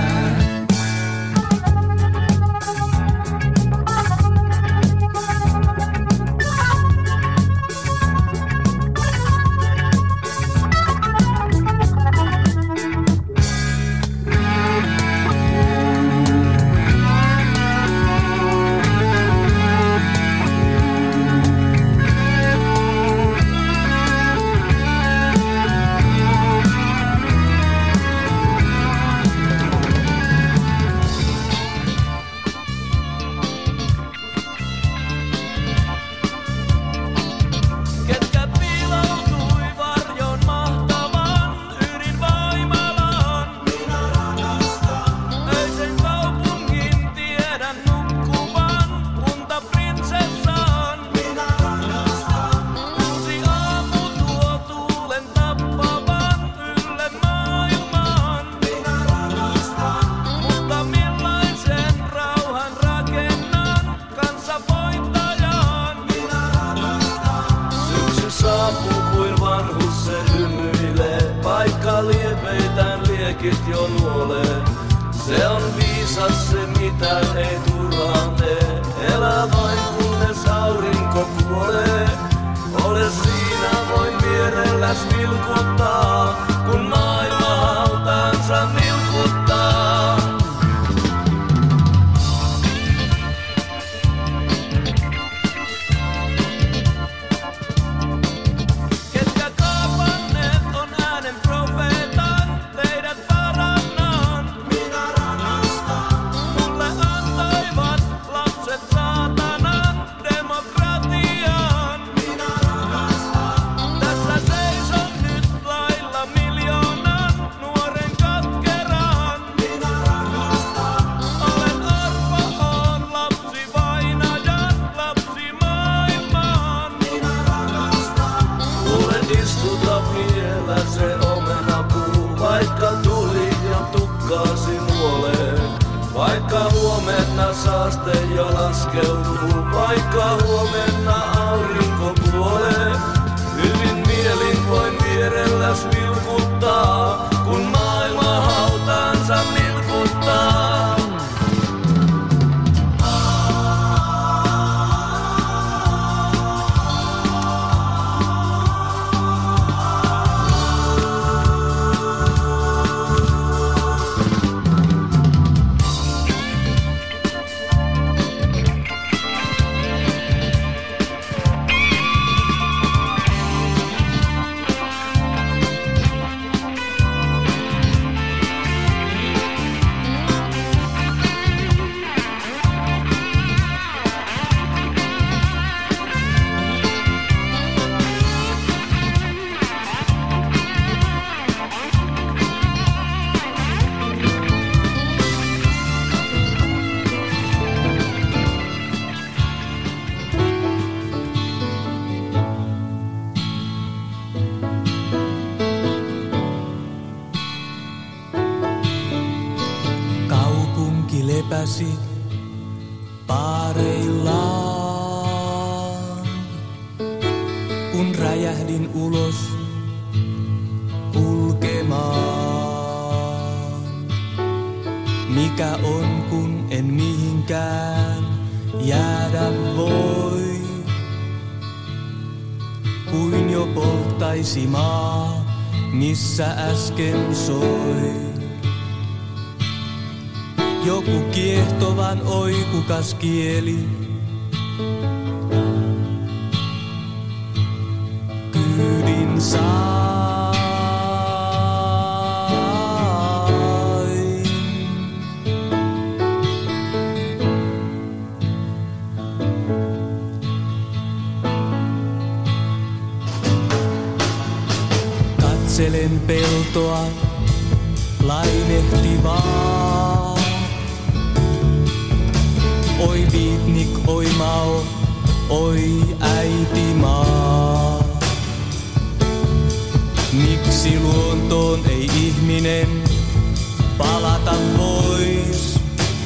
S18: Se on viisas se mitä ei turhaan tee. Elä vain kunnes aurinko kuolee. Ole siinä voin vierelläs vilkuttaa, kun maailma hautaansa nilkuttaa. Ketkä kaapanneet on äänen profeetan, teidät parannan. Minä rakastan. Mulle antoivat lapset saatanan demokratian. Minä rakastan. Tässä seison nyt lailla miljoonan nuoren katkeran. Minä rakastan. Olen arpa, oon lapsi vainajan, lapsi maailmaan. Minä rakastan. Mulle istuta vielä se omenapuu, vaikka tuli ja tukkaasi nuolee. Vaikka huomenna saaste jo laskeutuu, vaikka huomenna aurinko kuolee. Hyvin mielin voin vierelläs vilkuttaa, kun maailma hautaansa nilkuttaa.
S20: Kaupunki lepäsi paareillaan, kun räjähdin ulos kulkemaan. Mikä on, kun en mihinkään jäädä voi, kuin jo polttaisi maa, missä äsken soi. Joku kiehtovan oikukas kieli tyylin sain. Katselen peltoa lainehtivaa. Oi viitnik, oi mao, oi äiti maa. Miksi luontoon ei ihminen palata pois,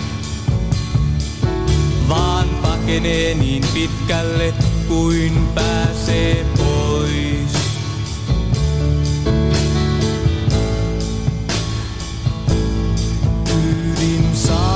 S20: vaan pakenee niin pitkälle kuin pääsee pois. Tyylin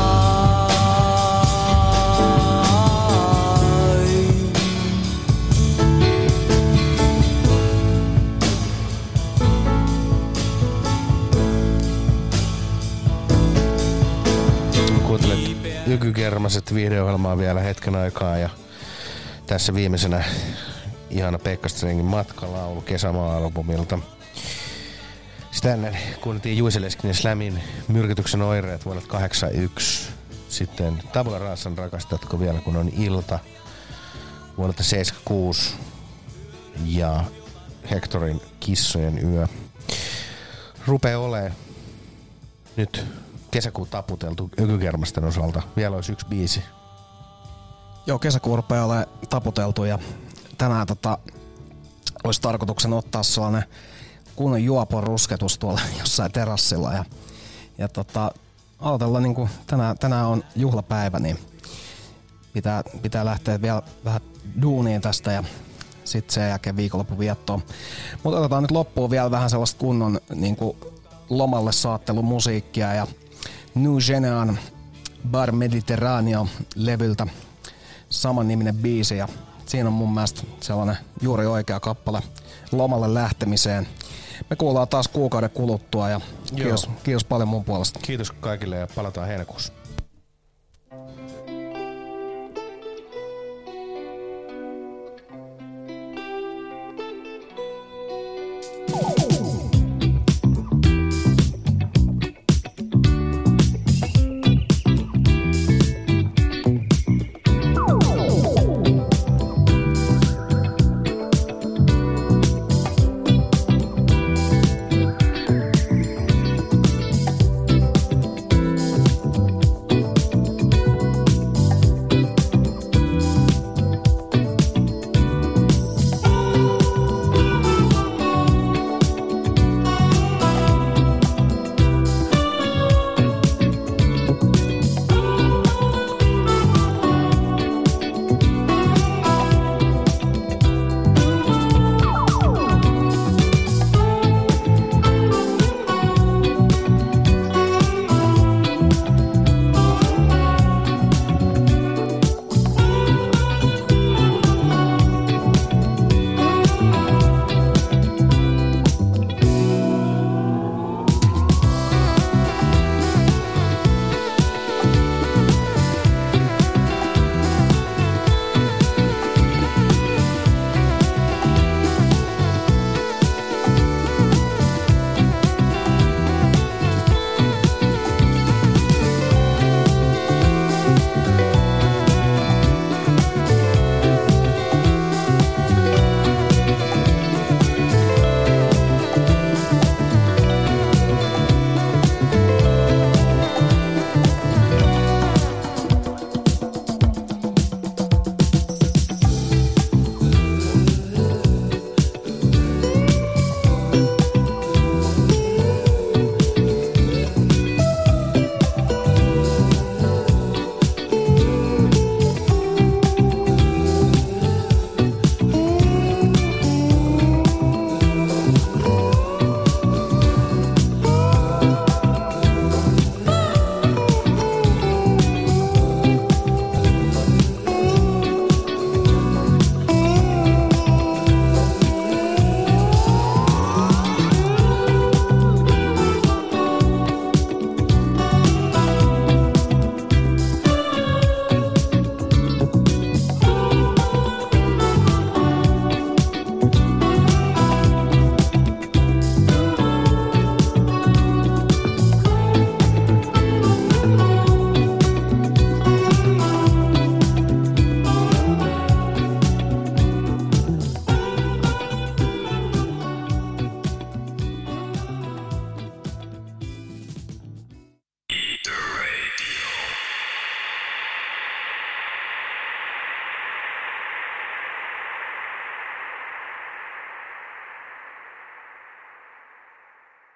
S2: Kuuntelet Ykykermaset video-ohjelmaa vielä hetken aikaa ja tässä viimeisenä ihana Pekka Strengin Matkalaulu kesämaa-albumilta. Sitä ennen kuunneltiin Juice Leskinen Slamin Myrkytyksen oireet vuodelta 81. Sitten Tabula Rasan Rakastatko vielä kun on ilta vuodelta 76 ja Hectorin Kissojen yö. Rupee olee nyt kesäkuun taputeltu Ykykermasten osalta. Vielä olisi yksi biisi.
S1: Joo, kesäkuun rupeaa olemaan taputeltu ja tänään olisi tarkoituksena ottaa sellainen kunnon juopon rusketus tuolla jossain terassilla ja aloitella niinku tänään on juhlapäivä, niin pitää lähteä vielä vähän duuniin tästä ja sitten sen jälkeen viikonlopun viettoon. Mutta otetaan nyt loppuun vielä vähän sellaista kunnon niinku lomalle saattelumusiikkia ja New Genean Bar Mediterraneo -levyltä saman niminen biisi ja siinä on mun mielestä sellainen juuri oikea kappale lomalle lähtemiseen. Me kuullaan taas kuukauden kuluttua ja kiitos paljon mun puolesta.
S2: Kiitos kaikille ja palataan heinäkuussa.